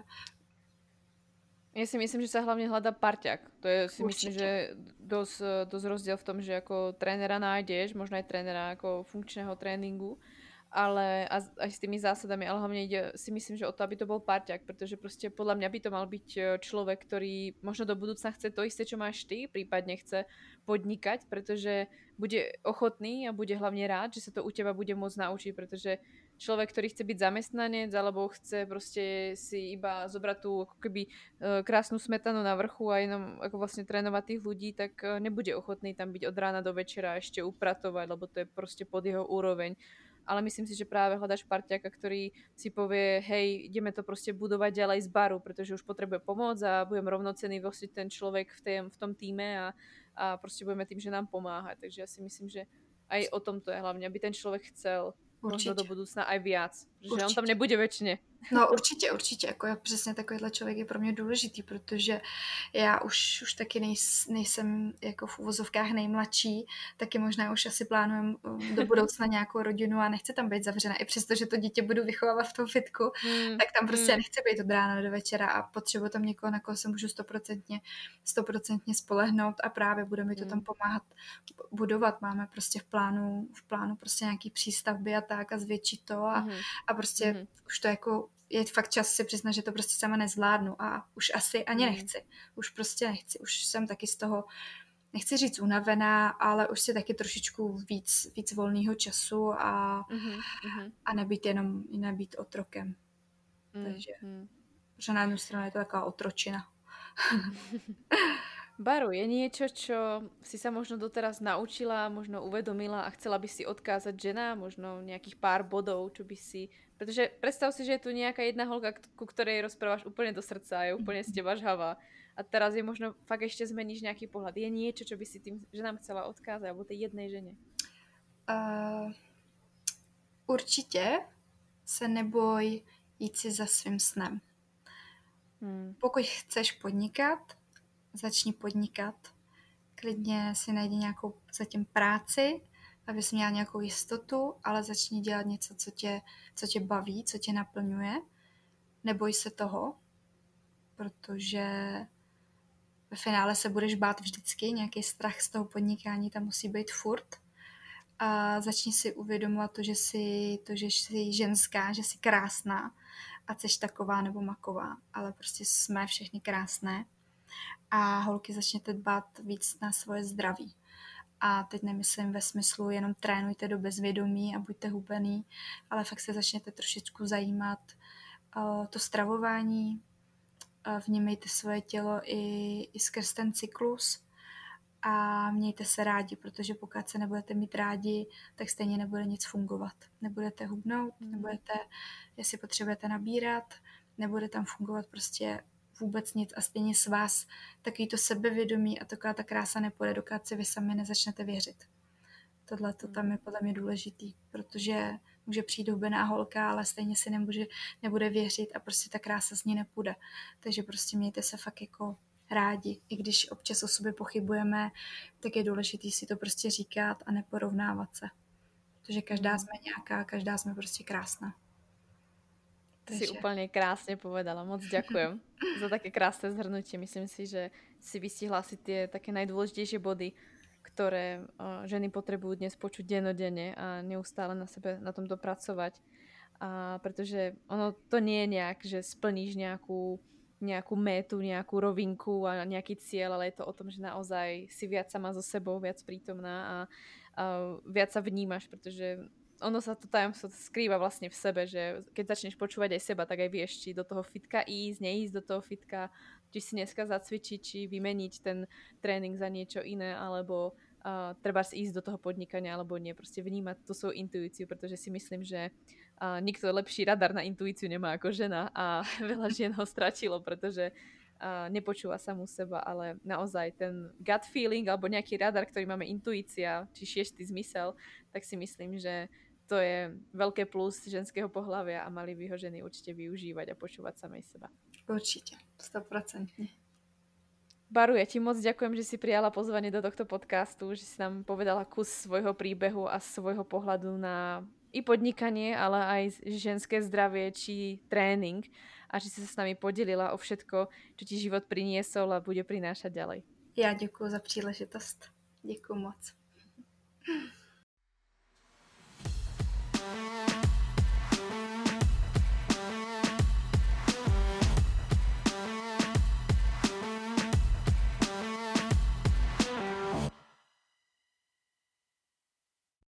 ja si myslím, že sa hlavne hľadá parťák. To je si určite. myslím, že dosť rozdiel v tom, že ako trénera nájdeš, možno aj trénera ako funkčného tréningu, ale aj s tými zásadami, ale hlavne ide, si myslím, že o to, aby to bol parťák, pretože proste podľa mňa by to mal byť človek, ktorý možno do budúcna chce to isté, čo máš ty, prípadne chce podnikať, pretože bude ochotný a bude hlavne rád, že sa to u teba bude môcť naučiť, pretože človek, ktorý chce byť zamestnanec alebo chce proste si iba zobrať tú ako keby krásnu smetanu na vrchu a jenom ako vlastne trénovať tých ľudí, tak nebude ochotný tam byť od rána do večera ešte upratovať, lebo to je proste pod jeho úroveň. Ale myslím si, že práve hľadaš parťaka, ktorý si povie, hej, ideme to proste budovať ďalej z baru, pretože už potrebuje pomoc a budem rovnocenný vlastne ten človek v tom týme a proste budeme tým, že nám pomáha. Takže ja si myslím, že aj o tom to je hlavne, aby ten človek chcel možno do budúcna aj viac. že on tam nebude väčšine. No určitě, jako přesně takovýhle člověk je pro mě důležitý, protože já už taky nejsem jako v uvozovkách nejmladší, taky možná už asi plánujem do budoucna nějakou rodinu a nechci tam být zavřena, i přesto, že to dítě budu vychovávat v tom fitku, tak tam prostě nechci být od rána do večera a potřebuji tam někoho, na koho se můžu 100% spolehnout a právě bude mi to tam pomáhat budovat. Máme prostě v plánu prostě nějaký přístavby a tak a zvětšit to a prostě už to jako je fakt čas si přiznat, že to prostě sama nezvládnu a už asi ani nechci. Už prostě nechci. Už jsem taky z toho, nechci říct unavená, ale už si taky trošičku víc volného času a nebýt otrokem. Takže že na jednu stranu je to taková otročina. Baru, je niečo, čo si sa možno doteraz naučila, možno uvedomila a chcela by si odkázať ženám, možno nejakých pár bodov, čo by si... Pretože predstav si, že je tu nejaká jedna holka, ku ktorej rozprávaš úplne do srdca a je úplne z teba žhavá. A teraz je možno fakt ešte zmeníš nejaký pohľad. Je niečo, čo by si tým ženám chcela odkázať, alebo tej jednej žene? Určitě se neboj jít si za svým snem. Pokud chceš podnikat, začni podnikat. Klidně si najdi nějakou zatím práci, abys měla nějakou jistotu, ale začni dělat něco, co tě baví, co tě naplňuje. Neboj se toho, protože ve finále se budeš bát vždycky, nějaký strach z toho podnikání tam musí být furt. A začni si uvědomovat to, že jsi ženská, že jsi krásná, ať jsi taková nebo maková, ale prostě jsme všechny krásné. A holky, začněte dbát víc na svoje zdraví. A teď nemyslím ve smyslu jenom trénujte do bezvědomí a buďte hubený, ale fakt se začněte trošičku zajímat to stravování, vnímejte svoje tělo i skrz ten cyklus a mějte se rádi, protože pokud se nebudete mít rádi, tak stejně nebude nic fungovat. Nebudete hubnout, nebudete, jestli potřebujete nabírat, nebude tam fungovat prostě vůbec nic a stejně s vás takový to sebevědomí a taková ta krása nepůjde, dokud si vy sami nezačnete věřit. Tohle to tam je podle mě důležitý, protože může přijít hubená holka, ale stejně si nebude věřit a prostě ta krása z ní nepůjde. Takže prostě mějte se fakt jako rádi. I když občas o sobě pochybujeme, tak je důležitý si to prostě říkat a neporovnávat se. Protože každá jsme nějaká, každá jsme prostě krásná. Si úplne krásne povedala. Moc ďakujem za také krásne zhrnutie. Myslím si, že si vystihla si tie také najdôležitejšie body, ktoré ženy potrebujú dnes počuť dennodenne a neustále na sebe na tomto pracovať. A pretože ono to nie je nejak, že splníš nejakú métu, nejakú rovinku a nejaký cieľ, ale je to o tom, že naozaj si viac sama so sebou, viac prítomná a viac sa vnímaš, pretože ono sa to tajomstvo skrýva vlastne v sebe, že keď začneš počúvať aj seba, tak aj vieš, či do toho fitka ísť, neísť do toho fitka, či si dneska zacvičiť, či vymeniť ten tréning za niečo iné, alebo treba ísť do toho podnikania, alebo nie. Proste vnímať tú svoju intuíciu, pretože si myslím, že nikto lepší radar na intuíciu nemá ako žena a veľa žien ho stratilo, pretože nepočúva samú seba, ale naozaj ten gut feeling alebo nejaký radar, ktorý máme intuícia, či šiestý zmysel, tak si myslím, že to je veľké plus ženského pohlavia a mali by ho ženy určite využívať a počúvať samej seba. Určite, 100%. Baru, ja ti moc ďakujem, že si prijala pozvanie do tohto podcastu, že si nám povedala kus svojho príbehu a svojho pohľadu na i podnikanie, ale aj ženské zdravie či tréning a že si sa s nami podelila o všetko, čo ti život priniesol a bude prinášať ďalej. Já děkuji za příležitost. Děkuji moc.